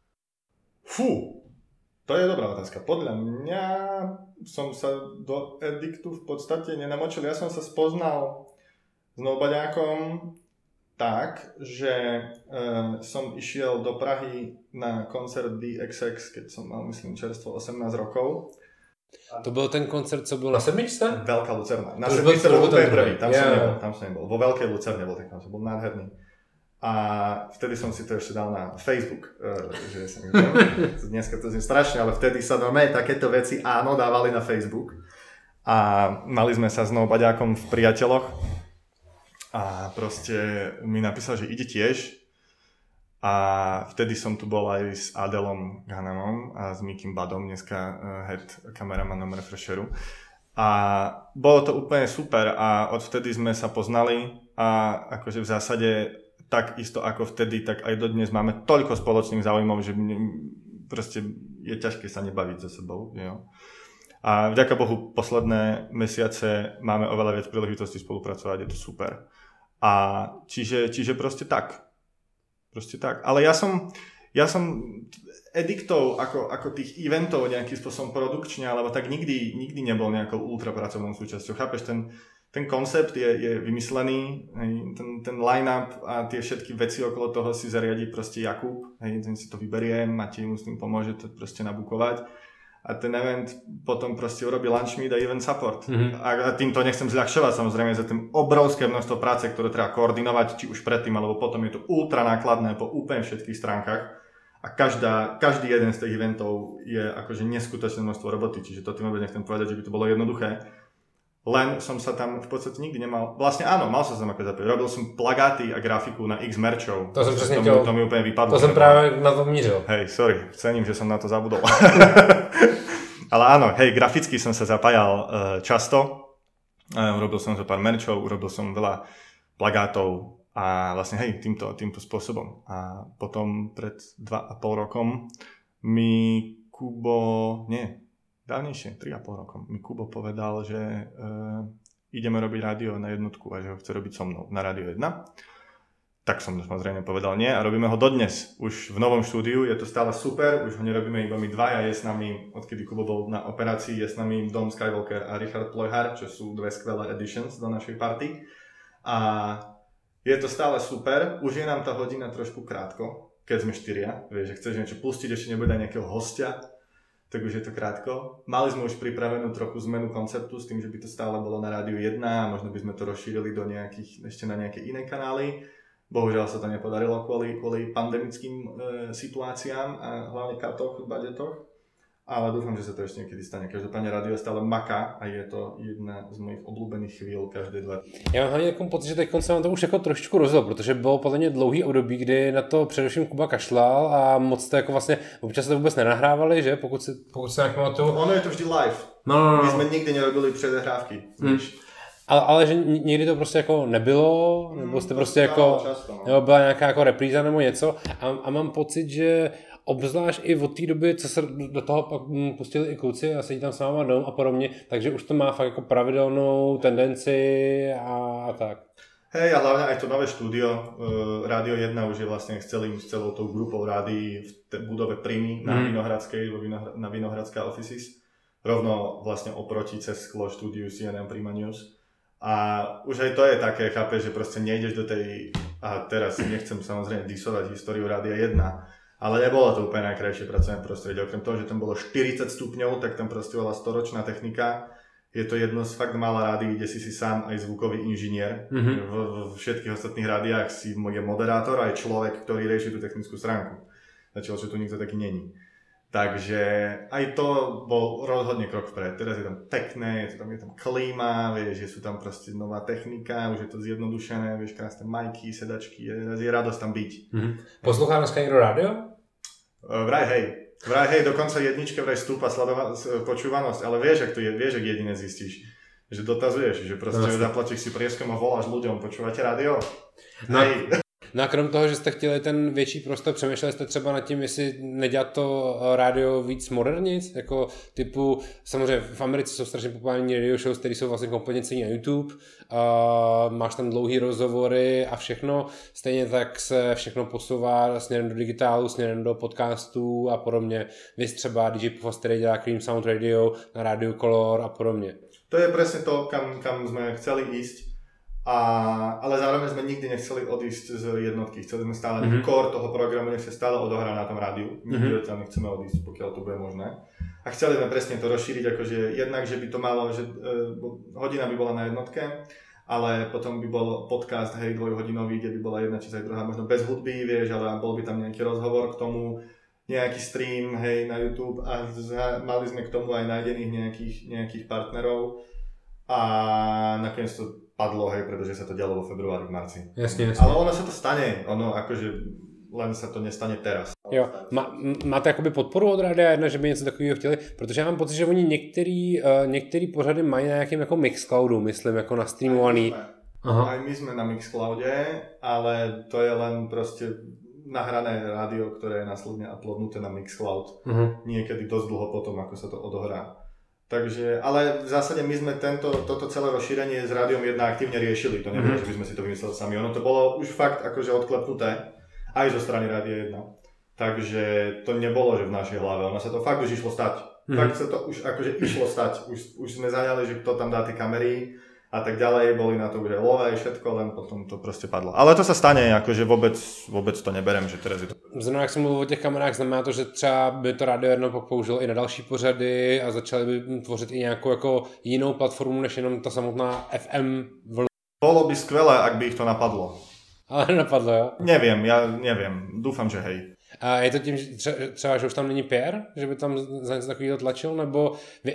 Fú, to je dobrá otázka. Podľa mňa som sa do ediktu v podstate nenamočil. Ja som sa spoznal s Nobaďákom tak, že som išiel do Prahy na koncert DXX, keď som mal, myslím, čerstvo 18 rokov. To byl ten koncert, co byl na Sedmičce? Veľká Lucerna. Na Sedmičce bol úplne prvý, tam som nebol. Vo Veľkej Lucerne bol ten koncert, bol nádherný. A vtedy som si to ešte dal na Facebook, že sa mi dneska to znie strašne, ale vtedy sa normálne takéto veci áno dávali na Facebook. A mali sme sa s Nobaďákom v Priateľoch. A proste mi napísal, že ide tiež a vtedy som tu bol aj s Adelom Ghanamom a s Mikim Badom, dneska head kameramanom Refresheru a bolo to úplne super a odvtedy sme sa poznali a akože v zásade tak isto ako vtedy, tak aj dodnes máme toľko spoločných záujmov, že proste je ťažké sa nebaviť so sebou, jo. A vďaka Bohu posledné mesiace máme oveľa viac príležitostí spolupracovať, je to super. A čiže proste tak. Proste tak. Ale ja som ediktov ako tých eventov nejakým spôsobom produkčne, alebo tak nikdy nebol nejakou ultrapracovnou súčasťou. Chápeš, ten koncept je vymyslený, ten line-up a tie všetky veci okolo toho si zariadí proste Jakub, ten si to vyberie, Matej mu s tým pomôže to proste nabukovať. A ten event potom proste urobí lunch meet a event support. A týmto nechcem zľahčovať samozrejme za tým obrovské množstvo práce, ktoré treba koordinovať, či už predtým, alebo potom je to ultra nákladné po úplne všetkých stránkach. A každý jeden z tých eventov je akože neskutočné množstvo roboty, čiže to tým vôbec nechcem povedať, že by to bolo jednoduché. Len som sa tam v podstate nikdy nemal, vlastne áno, mal som sa tam ako zapojiť. Robil som plagáty a grafiku na X merčov. To som presne to mi úplne vypadlo. To som práve na to mířil. Hej, sorry, cením, že som na to zabudol. Ale áno, hej, graficky som sa zapájal často. Urobil som zo pár merčov, urobil som veľa plagátov a vlastne hej, týmto spôsobom. A potom pred 2,5 rokom mi dávnejšie, 3,5 rokom, mi Kubo povedal, že ideme robiť rádio na jednotku a že ho chce robiť so mnou na Rádio 1. tak som samozrejme povedal nie a robíme ho dodnes. Už v novom štúdiu, je to stále super, už ho nerobíme iba my dvaja, je s nami, odkedy Kubo bol na operácii, je s nami Dom Skywalker a Richard Plojhar, čo sú dve skvelé editions do našej party. A je to stále super, už je nám tá hodina trošku krátko, keď sme štyria, vieš, že chceš niečo pustiť, ešte nebude aj nejakého hostia, tak už je to krátko. Mali sme už pripravenú trochu zmenu konceptu s tým, že by to stále bolo na Rádiu 1 a možno by sme to rozšírili do ešte na nejaké iné kanály. Bohužiaľ sa to nepodarilo kvôli pandemickým situáciám a hlavne katoch, budžetoch. Ale dúfam, že sa to ešte niekedy stane. Každopádne rádio stále maká a je to jedna z mojich obľúbených chvíľ každé 2 dny. Já mám hlavně takový pocit, že teď se vám to už jako trošičku rozjel, protože bylo podle mě dlouhý období, kdy na to především Kuba kašlal a moc to jako vlastně občas to vůbec nenahrávali, že? Pokud se nějak pamatuju. Ono je to vždy live. No. My jsme nikdy nerobili předehrávky. Ale že někdy to prostě jako nebylo, nebo jste prostě jako, nebo byla nějaká jako repríza nebo něco a mám pocit, že obzvlášť i od té doby, co se do toho pak pustili i kluci a sedí tam s váma Dom a podobně, takže už to má fakt jako pravidelnou tendenci a tak. Hej, a hlavne aj to nové štúdio, Rádio 1 už je vlastne s celou tou grupou rádií v budove Primy na Vinohradskej, na Vinohradská Offices, rovno vlastne oproti cez sklo štúdiu CNN Prima News. A už aj to je také, chápeš, že proste nejdeš do tej, a teraz nechcem samozrejme disovať históriu Rádia 1, ale nebolo to úplne najkrajšie pracovné prostredie. Okrem toho, že tam bolo 40 stupňov, tak tam proste bola storočná technika. Je to jedno z fakt mála rádií, kde si sám aj zvukový inžinier. V všetkých ostatných rádiách si je moderátor aj človek, ktorý rieši tú technickú stránku. Začalo, že tu nikto taký není. Takže aj to bol rozhodne krok vpred. Teraz je tam pekné, je tam klíma, vieš, že sú tam proste nová technika, už je to zjednodušené, vieš, krásne majky, sedačky, je radosť tam byť. Poslouchá dneska někdo rádio? Vraj hej, dokonca jedničke vraj stúpa počúvanosť, ale vieš, ak to je, vieš, ak jedine zistíš, že dotazuješ, že proste zaplatíš si prieskom a voláš ľuďom, počúvate rádio? Hej. No a krom toho, že jste chtěli ten větší prostor, přemýšleli jste třeba nad tím, jestli nedělat to rádio víc modernic, jako typu, samozřejmě v Americe jsou strašně populární radio shows, které jsou vlastně kompletně celý na YouTube, máš tam dlouhý rozhovory a všechno, stejně tak se všechno posouvá směrem do digitálu, směrem do podcastů a podobně. Vy třeba DJ Puffas, který dělá Cream Sound Radio na Radio Color a podobně. To je presne to, kam sme chceli ísť. Ale zároveň sme nikdy nechceli odísť z jednotky. Chceli sme stále core toho programu, nech sa stále odohrá na tom rádiu. Nikdy odtiaľ nechceme odísť, pokiaľ to bude možné. A chceli sme presne to rozšíriť, akože jednak, že by to malo, že hodina by bola na jednotke, ale potom by bol podcast, hej, dvojhodinový, kde by bola jedna časť aj druhá, možno bez hudby, vieš, ale bol by tam nejaký rozhovor k tomu, nejaký stream, hej, na YouTube a mali sme k tomu aj nájdených nejakých partnerov a nakoniec to padlo, hej, pretože sa to dialo vo februári, v marci. Jasne. Ale ono sa to stane, akože len sa to nestane teraz. Jo, máte jakoby podporu od Rádia 1, že by něco takového chtěli? Protože já mám pocit, že oni některý pořady mají na nějakém jako Mixcloudu, myslím, jako na streamovaný. Aj my sme na Mixcloude, ale to je len proste nahrané rádio, ktoré je následne uploadnuté na Mixcloud. Niekedy dosť dlho potom, ako sa to odohrá. Takže, ale v zásade my sme toto celé rozšírenie s Rádiom 1 aktívne riešili. To nebolo, že by sme si to vymysleli sami. Ono to bolo už fakt akože odklepnuté aj zo strany Rádia 1. Takže to nebolo, že v našej hlave. Ono sa to fakt už išlo stať. Fakt sa to už akože išlo stať. Už sme zaňali, že kto tam dá tie kamery a tak ďalej, boli na to už aj love, všetko, len potom to proste padlo. Ale to sa stane, akože vôbec to neberem, že teraz je to... Zrovna jak jsem mluvil o těch kamerách, znamená to, že třeba by to Rádio 1 použilo i na další pořady a začali by tvořit i nějakou jako jinou platformu, než jenom ta samotná FM vlna. Bolo by skvelé, ak by ich to napadlo. Ale nenapadlo, jo? Neviem, dúfam, že hej. A je to tím, že třeba, že už tam není Pierre, že by tam za něco takového tlačil, nebo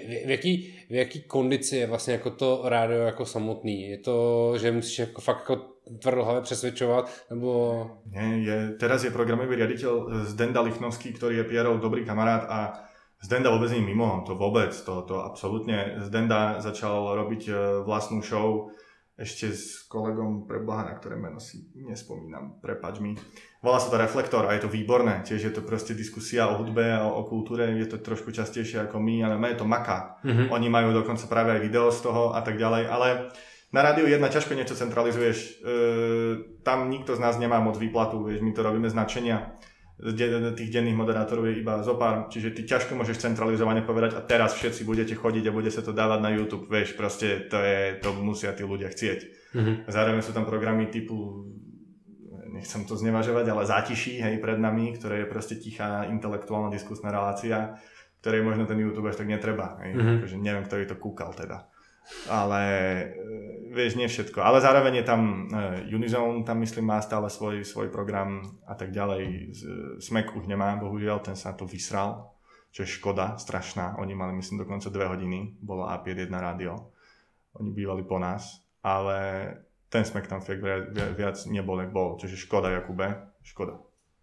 v jaký kondici je vlastně jako to rádio jako samotný? Je to, že musíš jako fakt jako tvrdohlavě přesvědčovat, nebo... Nie, teraz je programový riaditeľ Zdenda Lichnovský, ktorý je Pierrov dobrý kamarát a Zdenda vôbec nie mimo, to vôbec, to absolútne. Zdenda začal robiť vlastnú show ešte s kolegom preboha, na ktoré meno si nespomínam, prepáč mi. Volá sa to Reflektor a je to výborné, tiež je to proste diskusia o hudbe a o kultúre, je to trošku častejšie ako my, ale je to maká. Oni majú dokonca práve aj video z toho a tak ďalej, ale Na Rádiu 1 ťažko niečo centralizuješ. Tam nikto z nás nemá moc výplatu, vieš, my to robíme značenia. Tých denných moderátorov je iba zopár, čiže ty ťažko môžeš centralizovane povedať a teraz všetci budete chodiť a bude sa to dávať na YouTube, vieš, proste to musia tí ľudia chcieť. Zároveň sú tam programy typu, nechcem to znevažovať, ale Zátiší, hej, pred nami, ktoré je proste tichá intelektuálna diskusná relácia, ktorej možno ten YouTube až tak netreba, hej, akože neviem, kto by to kúkal teda. Ale vieš, nie všetko. Ale zároveň je tam Unizone, tam myslím má stále svoj program a tak ďalej. Smek už nemá, bohužiaľ, ten sa to vysral, čo je škoda, strašná. Oni mali myslím dokonca 2 hodiny, bolo A51 rádio. Oni bývali po nás, ale ten Smek tam viac nebol, jak bol. Čiže škoda, Jakube, škoda.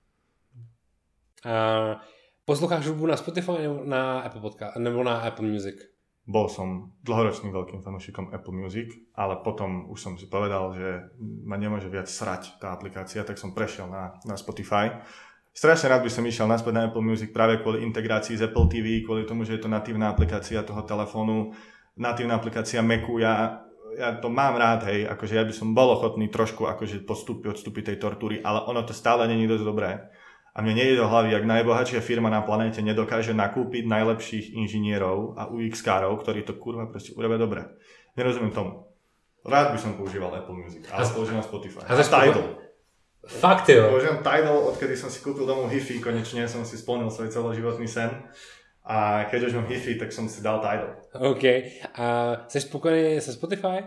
Posloucháš hudbu na Spotify nebo na Apple Podcast, nebo na Apple Music? Bol som dlhoročným veľkým fanúšikom Apple Music, ale potom už som si povedal, že ma nemôže viac srať tá aplikácia, tak som prešiel na Spotify. Strašne rád by som išiel naspäť na Apple Music práve kvôli integrácii z Apple TV, kvôli tomu, že je to natívna aplikácia toho telefónu, natívna aplikácia Macu. Ja to mám rád, hej, akože ja by som bol ochotný trošku akože odstúpiť tej tortúry, ale ono to stále není dosť dobré. A mne nejde do hlavy, ak najbohatšia firma na planéte nedokáže nakúpiť najlepších inžinierov a UX-károv, ktorí to kurva proste urobia dobre. Nerozumiem tomu. Rád by som používal Apple Music, ale používam Spotify. A Tidal. Fakt jo. Používam Tidal, odkedy som si kúpil domov Hi-Fi, konečne som si splnil svoj celoživotný sen. A keď už mám Hi-Fi, tak som si dal Tidal. OK. A jsi spokojený se Spotify?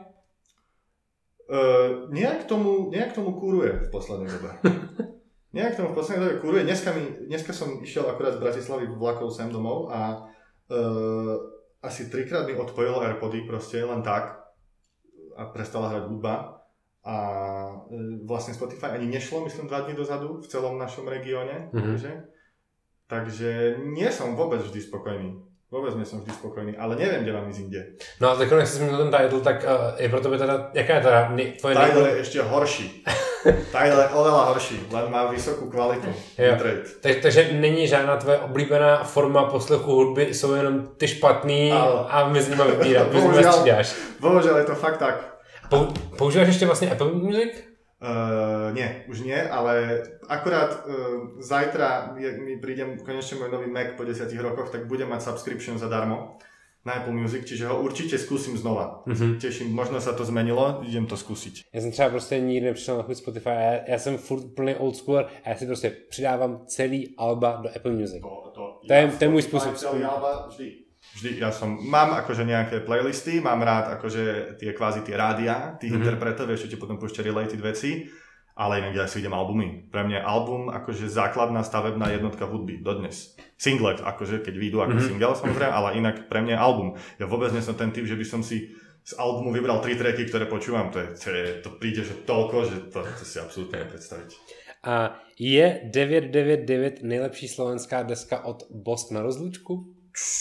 Nejak tomu kúruje v poslednej dobe. Nejak tomu v poslednej dobe kúruje. Dneska som išiel akurát z Bratislavy vlakov sem domov a asi 3-krát mi odpojilo AirPody proste len tak a prestala hrať hudba a vlastne Spotify ani nešlo, myslím 2 dní dozadu v celom našom regióne. Takže nie som vôbec vždy spokojný. Vôbec nie som vždy spokojný, ale neviem, kde mám ísť inde. No a tak jak jsi zmínil ten Tidal, tak je pro tebe teda, jaká je teda tvoje... Tidal je ešte horší. Tidal je oveľa horší, len má vysokú kvalitu. Takže není žádná tvoje oblíbená forma poslechu hudby, jsou jenom ty špatný a my s nimi střídáš. Bohužiaľ je to fakt tak. Používáš ještě vlastně Apple Music? Nie, už nie, ale akurát zajtra mi príde konečne môj nový Mac po 10 rokoch, tak budem mať subscription zadarmo na Apple Music, čiže ho určite skúsim znova. Teším, možno sa to zmenilo, idem to skúsiť. Já jsem třeba prostě nikdy nepřišel na chuť Spotify, já jsem furt plný old schooler a já si prostě přidávám celý alba do Apple Music. To je můj způsob. Celý alba vždy, mám akože nejaké playlisty, mám rád akože tie rádia, tých interpretov, vieš, čo ti potom púšťa related veci, ale inak ja si idem albumy. Pre mňa album akože základná stavebná jednotka hudby, dodnes. Singlet, akože keď vyjdú ako single samozrejme, ale inak pre mňa album. Ja vôbec nie som ten typ, že by som si z albumu vybral 3 tracky, ktoré počúvam, to príde, že toľko, že to si absolútne nepredstaviť. A je 999 nejlepší slovenská deska od Bosk na rozlúčku?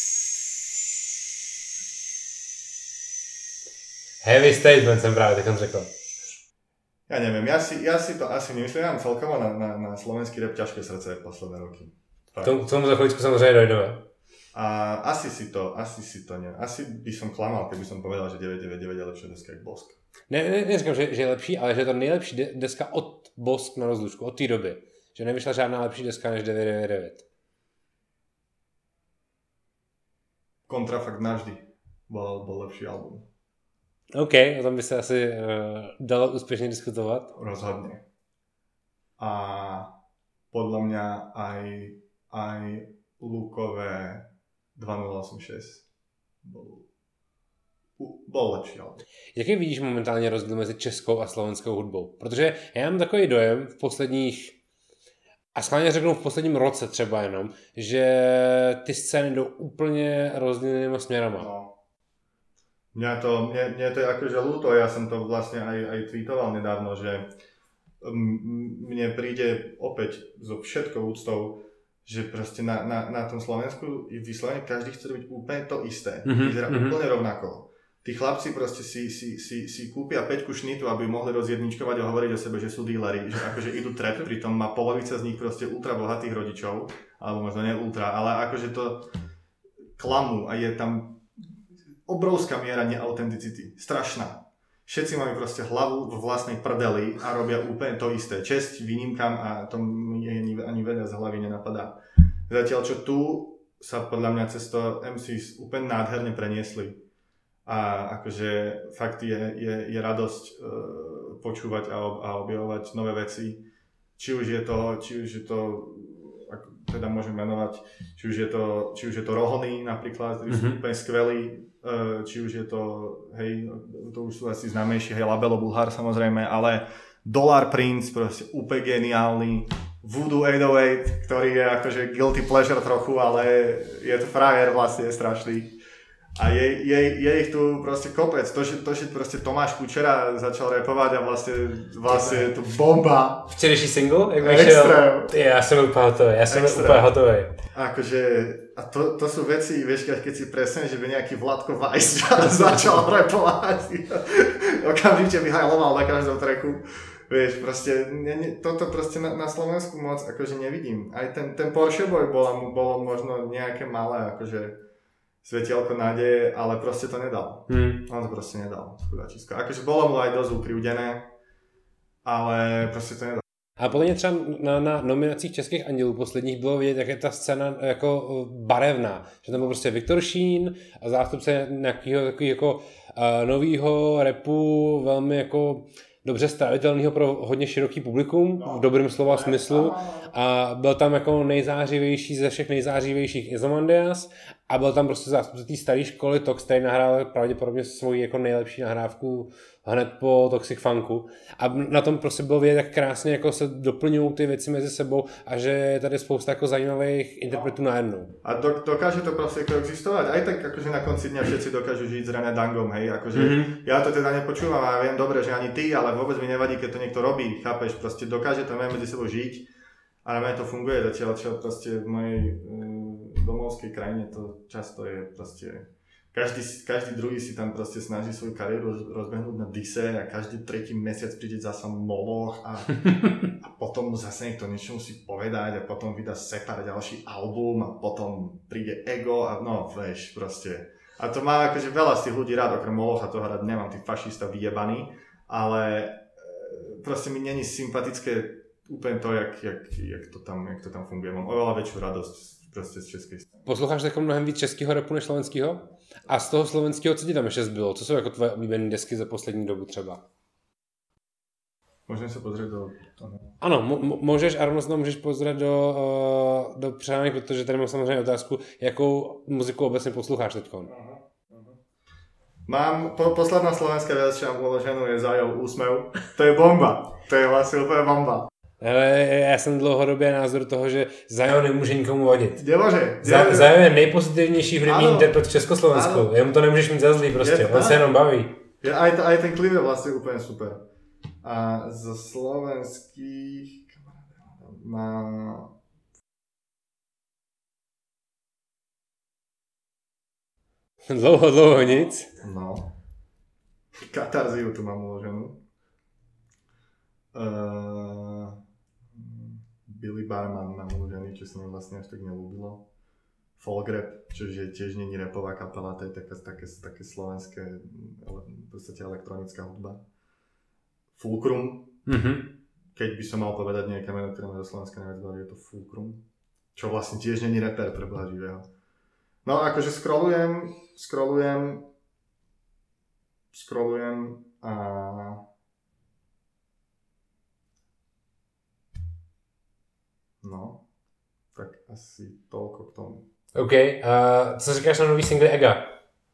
Heavy statement jsem právě tak řekl. Ja neviem, ja si to asi nemyslím, ja mám celkovo na slovenský rap ťažké srdce posledné roky. K tomu za chvíľučku samozřejmě dojdeme. A asi neviem. Asi by som klamal, keby som povedal, že 999 je lepšia deska jak Bosk. Neříkám, že je lepší, ale že je to nejlepší deska od Bosk na rozlučku, od té doby. Že nevyšla žádná lepší deska než 999. Kontrafakt navždy bol lepší album. OK, o tom by se asi dalo úspěšně diskutovat. Rozhodne. A podľa mňa aj Lukové 2086 bol lepší album. Jaký vidíš momentálně rozdíl mezi českou a slovenskou hudbou? Protože já mám takový dojem v posledních, a schválně řeknu v posledním roce třeba jenom, že ty scény jdou úplně rozdílnými směrama. No. Mne to je akože ľúto, ja som to vlastne aj tweetoval nedávno, že mne príde opäť so všetkou úctou, že proste na tom Slovensku vyslovene každý chce robiť úplne to isté. Vyzerá úplne rovnako. Tí chlapci proste si kúpia 5 šnitu, aby mohli rozjedničkovať a hovoriť o sebe, že sú díleri, že akože idú trap, pritom má polovica z nich proste ultra bohatých rodičov, alebo možno nie ultra, ale akože to klamú a je tam obrovská miera neautenticity. Strašná. všetci majú proste hlavu vo vlastnej prdeli a robia úplne to isté. Česť výnimkám a to mi ani veľa z hlavy nenapadá. Zatiaľ, čo tu sa podľa mňa cez to MCs úplne nádherne preniesli. A akože fakt je radosť počúvať a objavovať nové veci. Či už je to ako teda môžem menovať, či už je to Rohony napríklad, ktorí sú úplne skvelí, či už je to, hej, to už sú asi známejší, hej, Labelo Bulhár samozrejme, ale Dollar Prince, proste úplne geniálny, Voodoo 808, ktorý je akože guilty pleasure trochu, ale je to frajer vlastne strašný. A je ich tu proste kopec. To, že proste Tomáš Kučera začal rapovať a vlastne je to bomba. Včerejší single, jak vyšiel? Ja som úplne hotový. Akože, a to sú veci, vieš, keď si presne, že by nejaký Vladko Vajs začal rapovať. Okamžite vyhajloval na každom tracku. Vieš, proste, toto proste na Slovensku moc akože nevidím. Aj ten Porsche Boy bolo možno nejaké malé, akože svetielko nádeje, ale proste to nedal. On to proste nedal, chudáčisko. Akože bolo mu aj dosť ukrivdené, ale proste to nedal. A podle mě třeba na nominacích Českých andělů posledních bylo vidět, jak je ta scéna jako barevná. Že tam byl prostě Viktor Šín a zástupce nějakého takového jako nového rapu, velmi jako dobře stravitelného pro hodně široký publikum, v dobrém slova smyslu. A byl tam jako nejzářivější ze všech nejzářivějších Izomandias a byl tam prostě zástupce té staré školy Tox, který nahrál pravděpodobně svoji jako nejlepší nahrávku hned po Toxic Funku. A na tom prostě bylo vidět, jak krásně jako se doplňují ty věci mezi sebou a že je tady spousta jako zajímavých interpretů najednou. A dokáže to prostě koexistovať. Aj tak akože na konci dňa všetci dokážu žiť s René Dangom, hej. Akože ja to teda nepočúvam a viem dobre, že ani ty, ale vôbec mi nevadí, keď to niekto robí, chápeš? Proste dokáže to medzi sebou žiť a na mňa to funguje zatiaľ, čo proste v mojej domovskej krajine to často je proste každý druhý si tam proste snaží svoju kariéru rozbehnúť na dise a každý tretí mesiac príde zasa Moloch a potom zase niekto niečo musí povedať a potom vydá Separ ďalší album a potom príde Ego a no vieš proste. A to má akože veľa z tých ľudí rád, okrem Molocha toho rád nemám, tých fašista vyjebaný, ale proste mi není sympatické úplne to, jak to tam funguje. Mám oveľa väčšiu radosť prostě z české strany. Posloucháš jako mnohem víc českého rapu než slovenského? A z toho slovenského, co ti tam ještě zbylo? Co jsou jako tvoje oblíbené desky za poslední dobu třeba? Můžeme se pozrieť do toho. Ano, můžeš a rovnou se můžeš pozrieť do přání, protože tady mám samozřejmě otázku, jakou muziku obecně posloucháš teďko. Mám, posledná slovenská vec, čo mám uloženú, je Zajov Úsmev. To je bomba. To je vlastně úplně bomba. Ale já jsem dlouhodobě názor toho, že Zajo nemůže nikomu vadit. Nemůže. Zajo je nejpozitivnější hudební interpret v Československu. Jemu to nemůžeš mít za zlý prostě, on se jenom baví. Aj ten klip je vlastně úplně super. A zo slovenských má... Dlouho nic. No. Katarziu tu mám uloženú. Billy Barman mám uložený, čo sa mi vlastne až tak nelúbilo. Folk rap, čo je tiež není rapová kapela, to je také slovenské, v podstate elektronická hudba. Fulcrum. Keď by som mal povedať nejaké meno, ktoré ma do Slovenska najviac baví, je to Fulcrum. Čo vlastne tiež není rapper pre Boha živého. No akože scrollujem a no, tak asi toľko k tomu. OK, co říkáš na nový single Ega?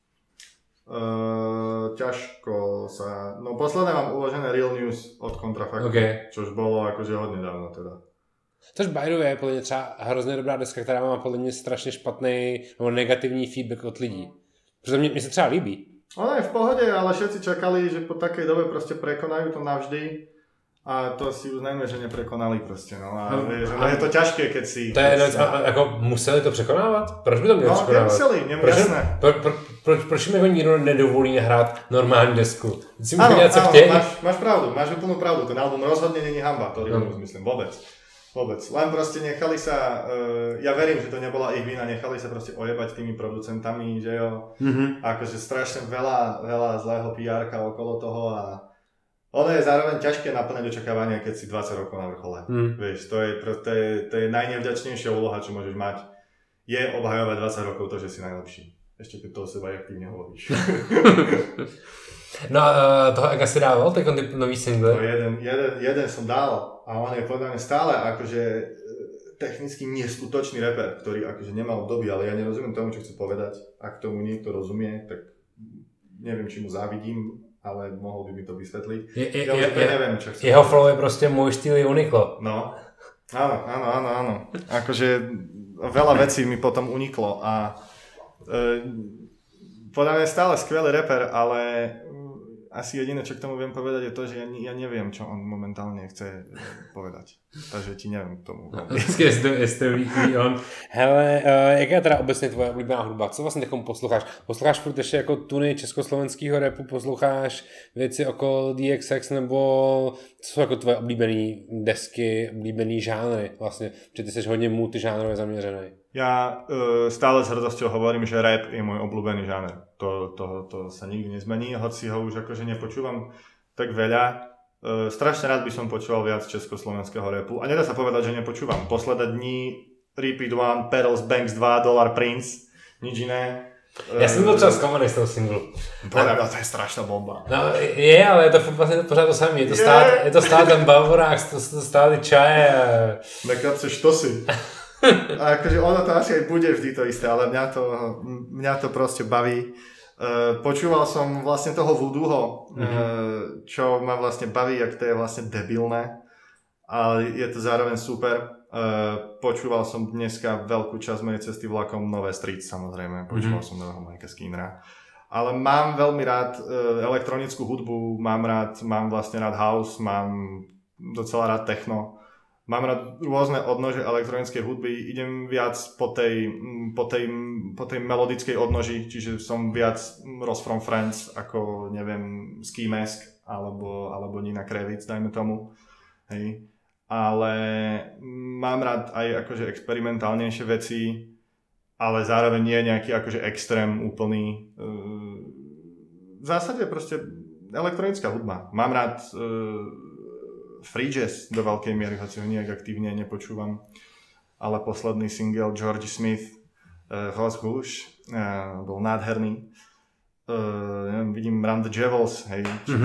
Ťažko sa... No posledné mám uložené Real News od Kontrafaktu, čož bolo akože hodne dávno teda. Což by the way je podle mě třeba hrozně dobrá deska, která má podle mě strašně špatný nebo negativní feedback od lidí. Protože mě se třeba líbí. Ona je v pohode, ale všetci čakali, že po takej dobe proste prekonajú to navždy. A to si uznajme, že neprekonali prostě, no. A je to ťažké, keď si... To je, jako museli to překonávat? Proč by to měli překonávat? No, nemuseli, jasné. Proč mi ho nikdo nedovolí nahrát normální desku? Áno, máš pravdu, máš úplnú pravdu. Ten album rozhodne není hamba, to myslím vôbec. Vôbec. Len proste nechali sa, ja verím, že to nebola ich vina, nechali sa proste ojebať tými producentami, že jo. Akože strašne veľa zlého PR-ka okolo toho a ono je zároveň ťažké naplňať očakávania, keď si 20 rokov na vrchole. Vieš, to je najnevďačnejšia úloha, čo môžeš mať. Je obhajovať 20 rokov to, že si najlepší. Ešte keď to o seba aktívne hovoríš. No a toho Ega si dával, ten nový single? No jeden som dal a on je podľa mňa stále akože technicky neskutočný rapper, ktorý akože nemá obdobie, ale ja nerozumiem tomu, čo chce povedať. Ak tomu niekto rozumie, tak neviem, či mu závidím, ale mohol by mi to vysvetliť. Neviem, čo chce. Jeho flow je proste môj štýl je Uniqlo. No, áno. Akože veľa vecí mi potom uniklo a podľa mňa je stále skvelý rapper, ale asi jediné, čo k tomu viem povedať, je to, že ja neviem, čo on momentálne chce povedať. Takže ti neviem k tomu. Hele, jaká je teda obecně tvoje oblíbená hudba? Co vlastně takom posloucháš? Posloucháš furt ještě jako tuny československého rapu? Posloucháš věci okolo DXX? Nebo co jsou jako tvoje oblíbené desky, oblíbený žánry vlastně? Protože ty jsi hodně multižánrově zaměřený. Ja stále s hrdosťou hovorím, že rap je môj obľúbený žáner. To sa nikdy nezmení, hoci ho už akože nepočúvam tak veľa. Strašne rád by som počúval viac československého rapu a nedá sa povedať, že nepočúvam. Posledné dní Repeat One, Perils, Banks 2, Dollar Prince, nič iné. Já jsem byl třeba zklamaný z toho singlu. To je strašná bomba. No je, ale je to vlastně pořád to samé. Je to stále ten bavorák, to stále čaje. Nekapce štosy. A akože ono to asi aj bude vždy to isté, ale mňa to proste baví. Počúval som vlastne toho Voodooho, čo ma vlastne baví, jak to je vlastne debilné, ale je to zároveň super. Počúval som dneska veľkú časť mojej cesty vlakom Nové Street, samozrejme. Počúval som nového Majka Skinnera. Ale mám veľmi rád elektronickú hudbu, mám vlastne rád house, mám docela rád techno. Mám rád rôzne odnože elektronickej hudby, idem viac po tej melodickej odnoži, čiže som viac Ross from Friends ako, neviem, Ski Mask alebo Nina Kravic, dajme tomu. Hej. Ale mám rád aj akože experimentálnejšie veci, ale zároveň nie nejaký akože extrém úplný. V zásade proste elektronická hudba. Mám rád free jazz do veľkej miery, hoci ho nejak aktívne nepočúvam. Ale posledný single George Smith, Rose Rouge, bol nádherný. Vidím Run the Jewels, hej,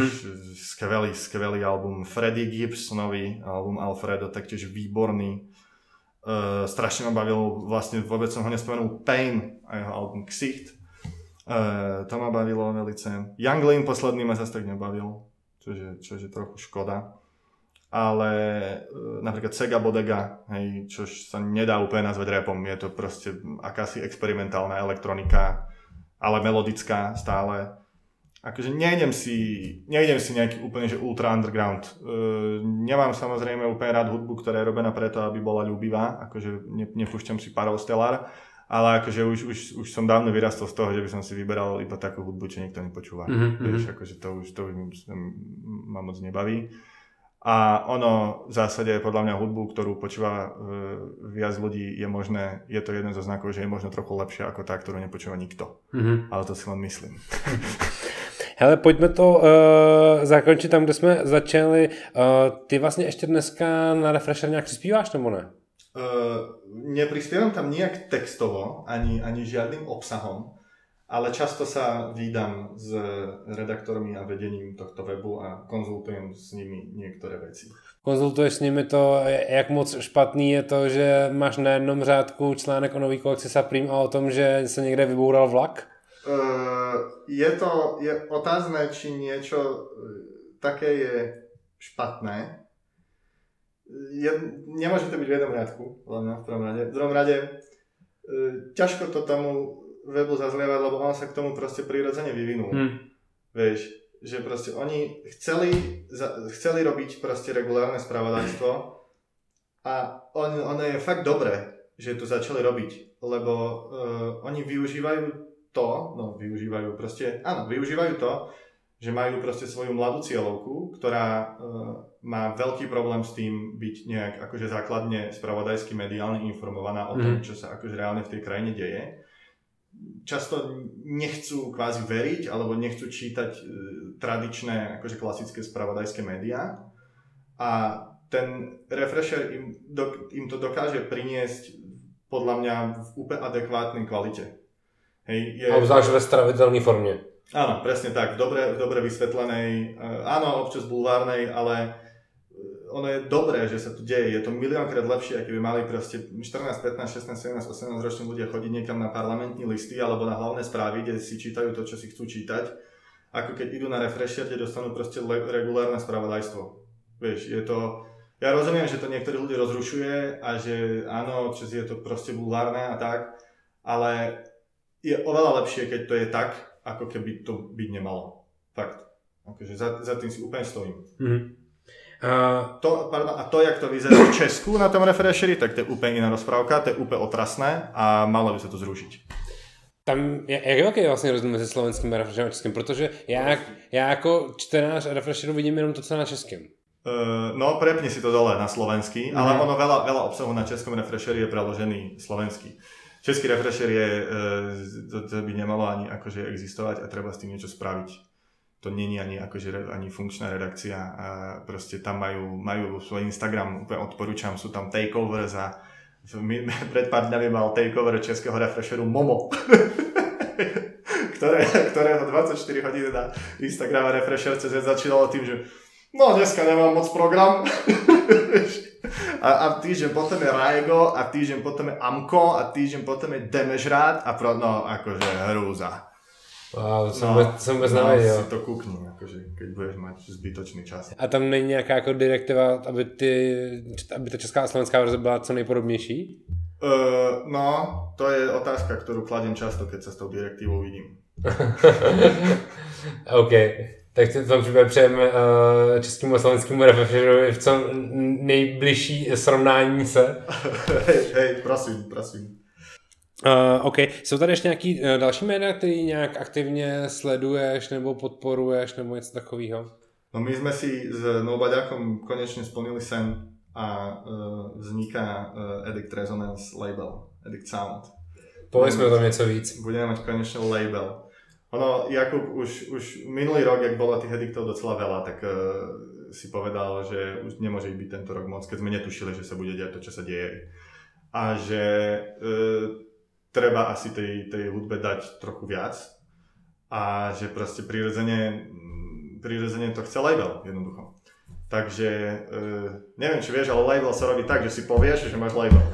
skvelý album. Freddie Gibbs, nový album Alfredo, taktiež výborný. Strašne ma bavil, vlastne vôbec som ho nespomenul, Pain a jeho album Ksicht. To ma bavilo velice. Young Lean posledný ma zase tak nebavil, čože trochu škoda. Ale napríklad Sega Bodega, hej, čož sa nedá úplne nazvať rapom, je to proste akási experimentálna elektronika, ale melodická stále. Akože nejdem si nejaký úplne že ultra underground. Nemám samozrejme úplne rád hudbu, ktorá je robená preto, aby bola ľúbivá, akože nepúšťam si Parov Stellar, ale akože už som dávno vyrastol z toho, že by som si vyberal iba takú hudbu, čo nikto nepočúva. Vieš, akože to už ma moc nebaví. A ono v zásade podľa mňa hudbu, ktorú počúva viac ľudí, je to jeden zo znakov, že je možno trochu lepšia ako tá, ktorú nepočúva nikto. Ale to si len myslím. Hele, pojďme to zakončit tam, kde jsme začali. Ty vlastně ještě dneska na Refresher nějak přispíváš, nebo ne? Neprispievam tam nejak textovo, ani žiadnym obsahom. Ale často sa vídam s redaktormi a vedením tohto webu a konzultujem s nimi niektoré veci. Konzultuješ s nimi to, jak moc špatný je to, že máš na jednom řádku článek o nový kolekci Supreme a o tom, že se někde vyboural vlak? Je otázne, či niečo také je špatné. Nemôže to byť v jednom riadku, v prvom rade. V druhom rade ťažko to tomu webu zazlievať, lebo on sa k tomu proste prirodzene vyvinul. Vieš, že proste oni chceli robiť proste regulárne spravodajstvo a ono je fakt dobré, že to začali robiť, lebo využívajú to, že majú proste svoju mladú cieľovku, ktorá má veľký problém s tým byť nejak akože základne spravodajsky mediálne informovaná o tom, čo sa akože reálne v tej krajine deje. Často nechcú kvázi veriť alebo nechcú čítať tradičné akože klasické spravodajské médiá a ten refresher im to dokáže priniesť podľa mňa v úplne adekvátnej kvalite. Hej, a obzvlášť ve straviteľnej forme. Áno, presne tak, dobre vysvetlenej, áno, občas bulvárnej, ale ono je dobré, že sa to deje. Je to miliónkrát lepšie, ak by mali proste 14, 15, 16, 17, 18 roční ľudia chodiť niekam na parlamentní listy alebo na hlavné správy, kde si čítajú to, čo si chcú čítať, ako keď idú na refresher, kde dostanú proste regulárne spravodajstvo. Vieš, je to... Ja rozumiem, že to niektorí ľudia rozrušuje a že áno, občas je to proste bulvárne a tak, ale je oveľa lepšie, keď to je tak, ako keby to byť nemalo. Fakt. Akože za tým si úplne stojím. A to, jak to vyzerá v Česku na tom refresheri, tak to je úplně jiná rozprávka, to je úplně otrasné a malo by se to zrušit. Tam, jak velký je vlastně rozdíl mezi slovenským a refresherem a českým? Protože já jako čtenář refresheru vidím jenom to, co na českém. No, prepni si to dole na slovenský, ale ono veľa obsahu na českom refresheri je preložený slovenský. Český refresher je, to by nemalo ani akože existovať a treba s tým niečo spraviť. To není ani akože ani funkčná redakcia a proste tam majú svoj Instagram, úplne odporúčam, sú tam takeovers a pred pár dňami mal takeover českého refresheru Momo, ktorého 24 hodín na Instagram refresher.cz začínalo tým, že no dneska nemám moc program. a týždeň potom je Rajgo a týždeň potom je Amko a týždeň potom je Demežrát a no akože hrúza. Wow, jsem vůbec nevěděl. Si to kukni, akože, keď budeš mať zbytočný čas. A tam není nějaká jako direktiva, aby ta česká a slovenská verze byla co nejpodobnější? No, to je otázka, ktorú kladiem často, keď sa s tou direktívou vidím. OK. Tak v tom případě přejeme českému a slovenskému refresherovi v co nejbližší srovnání se. Hej, prosím. OK. Jsou tady ještě nějaký další média, který nějak aktivně sleduješ nebo podporuješ nebo něco takového? No my sme si s Nobaďákom konečne splnili sen a vzniká Edict Resonance label, Edict Sound. Povedzme o tom něco víc. Budeme mať konečne label. Ono, Jakub už minulý rok, jak bolo tých ediktov docela veľa, tak si povedal, že už nemôže byť tento rok moc, keď sme netušili, že sa bude diať to, čo sa deje. A že treba asi tej hudbe dať trochu viac. A že proste prirodzene to chce label, jednoducho. Takže, neviem, či vieš, ale label sa robí tak, že si povieš, že máš label.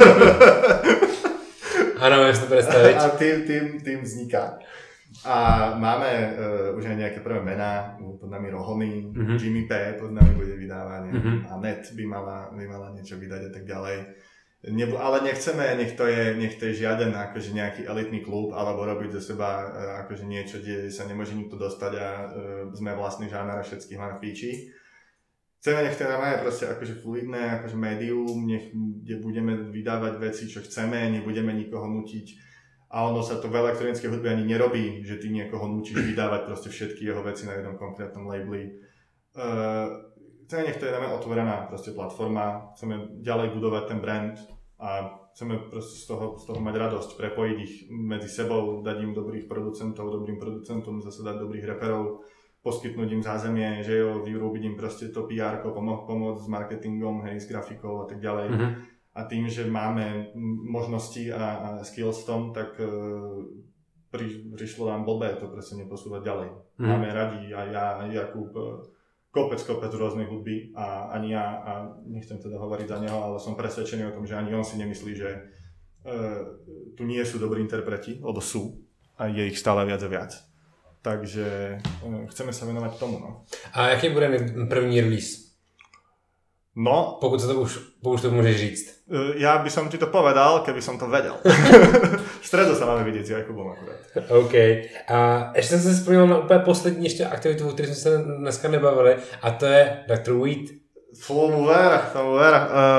Áno, vieš to predstaviť. A tým vzniká. A máme už aj nejaké prvé mená, pod nami Rohony, Jimmy P pod nami bude vydávať, a Net by mala niečo vydať a tak ďalej. Ale nechceme, nech to je žiaden akože nejaký elitný klub, alebo robiť zo seba akože niečo, kde sa nemôže nikto dostať a sme vlastný žáner a všetkých máme v píči. Chceme, nech to je proste akože fluidné, akože médium, kde budeme vydávať veci, čo chceme, nebudeme nikoho nutiť. A ono sa to v elektronickej hudbe ani nerobí, že ty niekoho núčiš vydávať proste všetky jeho veci na jednom konkrétnom labeli. Chceme, nech to je otvorená proste platforma, chceme ďalej budovať ten brand a chceme proste z toho mať radosť, prepojiť ich medzi sebou, dať im dobrým producentom zase dať dobrých reperov, poskytnúť im zázemie, že jo, vyrobiť im proste to PR-ko, pomôcť s marketingom, hej, s grafikou a tak ďalej. A tým, že máme možnosti a skills v tom, tak prišlo nám blbé to proste neposúvať ďalej. Máme radi aj ja, aj Jakub, kopec rôznej hudby a ani ja, a nechcem teda hovoriť za neho, ale som presvedčený o tom, že ani on si nemyslí, že tu nie sú dobrí interpreti, lebo sú a je ich stále viac a viac. Takže chceme sa venovať tomu. No. A jaký bude první release? No, pokud to môžeš říct. Ja by som ti to povedal, keby som to vedel. V stredu sa máme vidieť s Jakubom akurát. OK. A ještě jsem se vzpomněl na úplně poslední ještě aktivitu, o které jsme se dneska nebavili, a to je Dr. Weed. Tomu ver.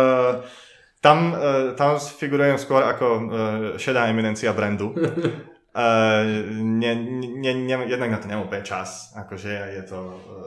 Tam figurujem skôr ako šedá eminencia brandu. Jednak na to nemám úplne čas, akože je to...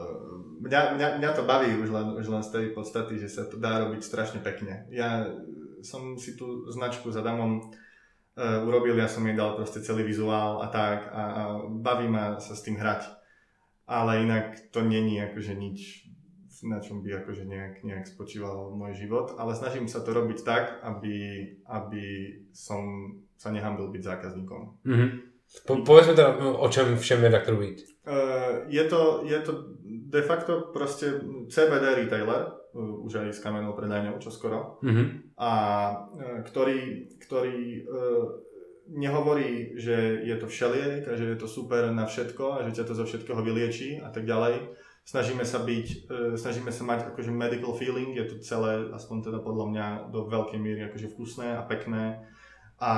Mňa to baví už len z tej podstaty, že sa to dá robiť strašne pekne. Ja som si tú značku za Damom urobil, ja som jej dal proste celý vizuál a tak a baví ma sa s tým hrať. Ale inak to není akože nič, na čom by akože nejak spočíval môj život, ale snažím sa to robiť tak, aby som sa nehambil byť zákazníkom. Povedzme teda, o čem všem je Dr. Weed. Je to de facto proste CBD retailer, už aj s kamennou predajňou čoskoro, a ktorý nehovorí, že je to všeliek a že je to super na všetko a že ťa to zo všetkého vylieči a tak ďalej. Snažíme sa mať akože medical feeling, je to celé, aspoň teda podľa mňa, do veľkej miery akože vkusné a pekné. A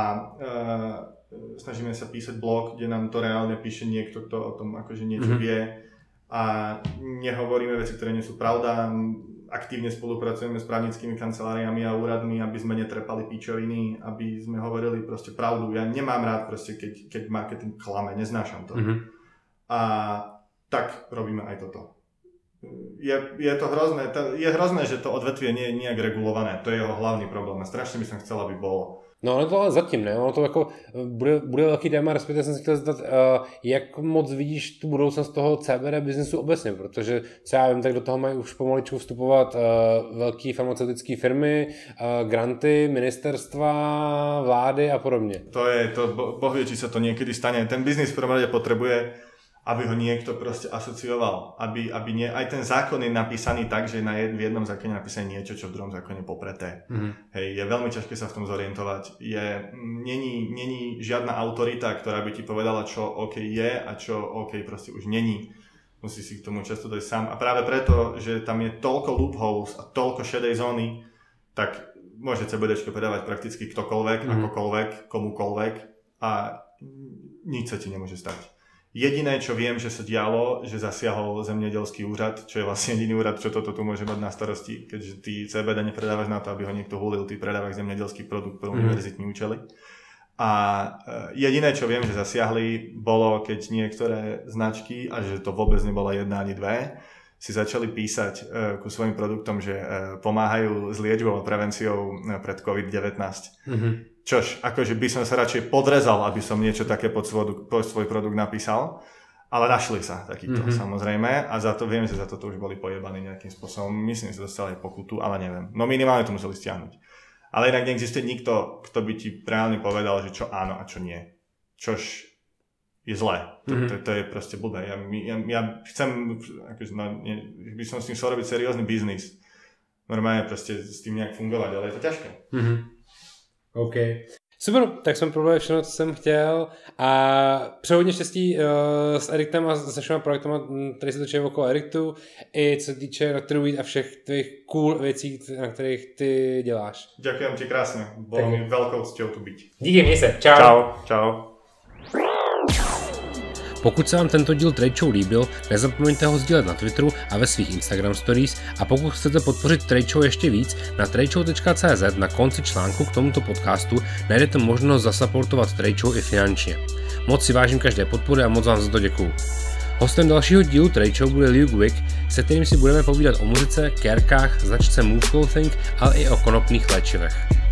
snažíme sa písať blog, kde nám to reálne píše niekto, kto o tom akože niečo vie. A nehovoríme veci, ktoré nie sú pravda. Aktívne spolupracujeme s právnickými kanceláriami a úradmi, aby sme netrepali píčoviny, aby sme hovorili proste pravdu. Ja nemám rád proste, keď marketing klame, neznášam to. A tak robíme aj toto. Je to hrozné, je hrozné, že to odvetvie nie je nejak regulované. To je jeho hlavný problém a strašně by som chcel, aby bolo. No ale to ale zatím ne, ono to jako bude velký téma, respektive jsem se chtěl zeptat, jak moc vidíš tu budoucnost toho CBD biznesu obecně, protože co já vím, tak do toho mají už pomaličku vstupovat velké farmaceutické firmy, granty, ministerstva, vlády a podobně. Boh vie, či sa to niekedy stane. Ten biznis v prvom rade potrebuje, aby ho niekto proste asocioval, aby aj ten zákon je napísaný tak, že v jednom zákone je napísané niečo, čo v druhom zákone popreté. Hej, je veľmi ťažké sa v tom zorientovať. Není žiadna autorita, ktorá by ti povedala, čo OK je a čo OK proste už není. Musíš si k tomu často dojsť sám. A práve preto, že tam je toľko loopholes a toľko šedej zóny, tak môže CBDčko predávať prakticky ktokoľvek, akokoľvek, komukoľvek a nič sa ti nemôže stať. Jediné, čo viem, že sa dialo, že zasiahol zemědělský úřad, čo je vlastne jediný úrad, čo toto tu môže mať na starosti, keďže ty CBD nepredávaš na to, aby ho niekto hulil, ty predávaš zemědělský produkt pro univerzitní účely. A jediné, čo viem, že zasiahli, bolo, keď niektoré značky, a že to vôbec nebola jedna ani dve, si začali písať ku svojim produktom, že pomáhajú s liečbou a prevenciou pred COVID-19. Čož, akože by som sa radšej podrezal, aby som niečo také pod svoj produkt napísal, ale našli sa takýto samozrejme a za to viem, že za toto už boli pojebaní nejakým spôsobom. Myslím, že dostali pokutu, ale neviem. No minimálne to museli stiahnuť. Ale inak neexistuje nikto, kto by ti reálne povedal, že čo áno a čo nie. Čož je zlé. To je proste blbé. Ja chcem, akože, by som s tým chcel robiť seriózny biznis. Normálne proste s tým nejak fungovať, ale je to ťažké. OK. Super, tak jsem probrali všechno, co jsem chtěl a přeju hodně štěstí s Erictem a se všema projektama, které se točí okolo Erictu, i co se týče Dr. Weed a všech tvých cool věcí, na kterých ty děláš. Ďakujem ti krásne, bolo mi veľkou cťou tu byť. Díky, měj se, čau. Čau, čau. Pokud se vám tento díl Trade Show líbil, nezapomeňte ho sdílet na Twitteru a ve svých Instagram stories a pokud chcete podpořit Trade Show ještě víc, na tradeshow.cz na konci článku k tomuto podcastu najdete možnost zasupportovat Trade Show i finančně. Moc si vážím každé podpory a moc vám za to děkuju. Hostem dalšího dílu Trade Show bude Luke Wick, se kterým si budeme povídat o muzice, kérkách, značce Move Clothing, ale i o konopných léčivech.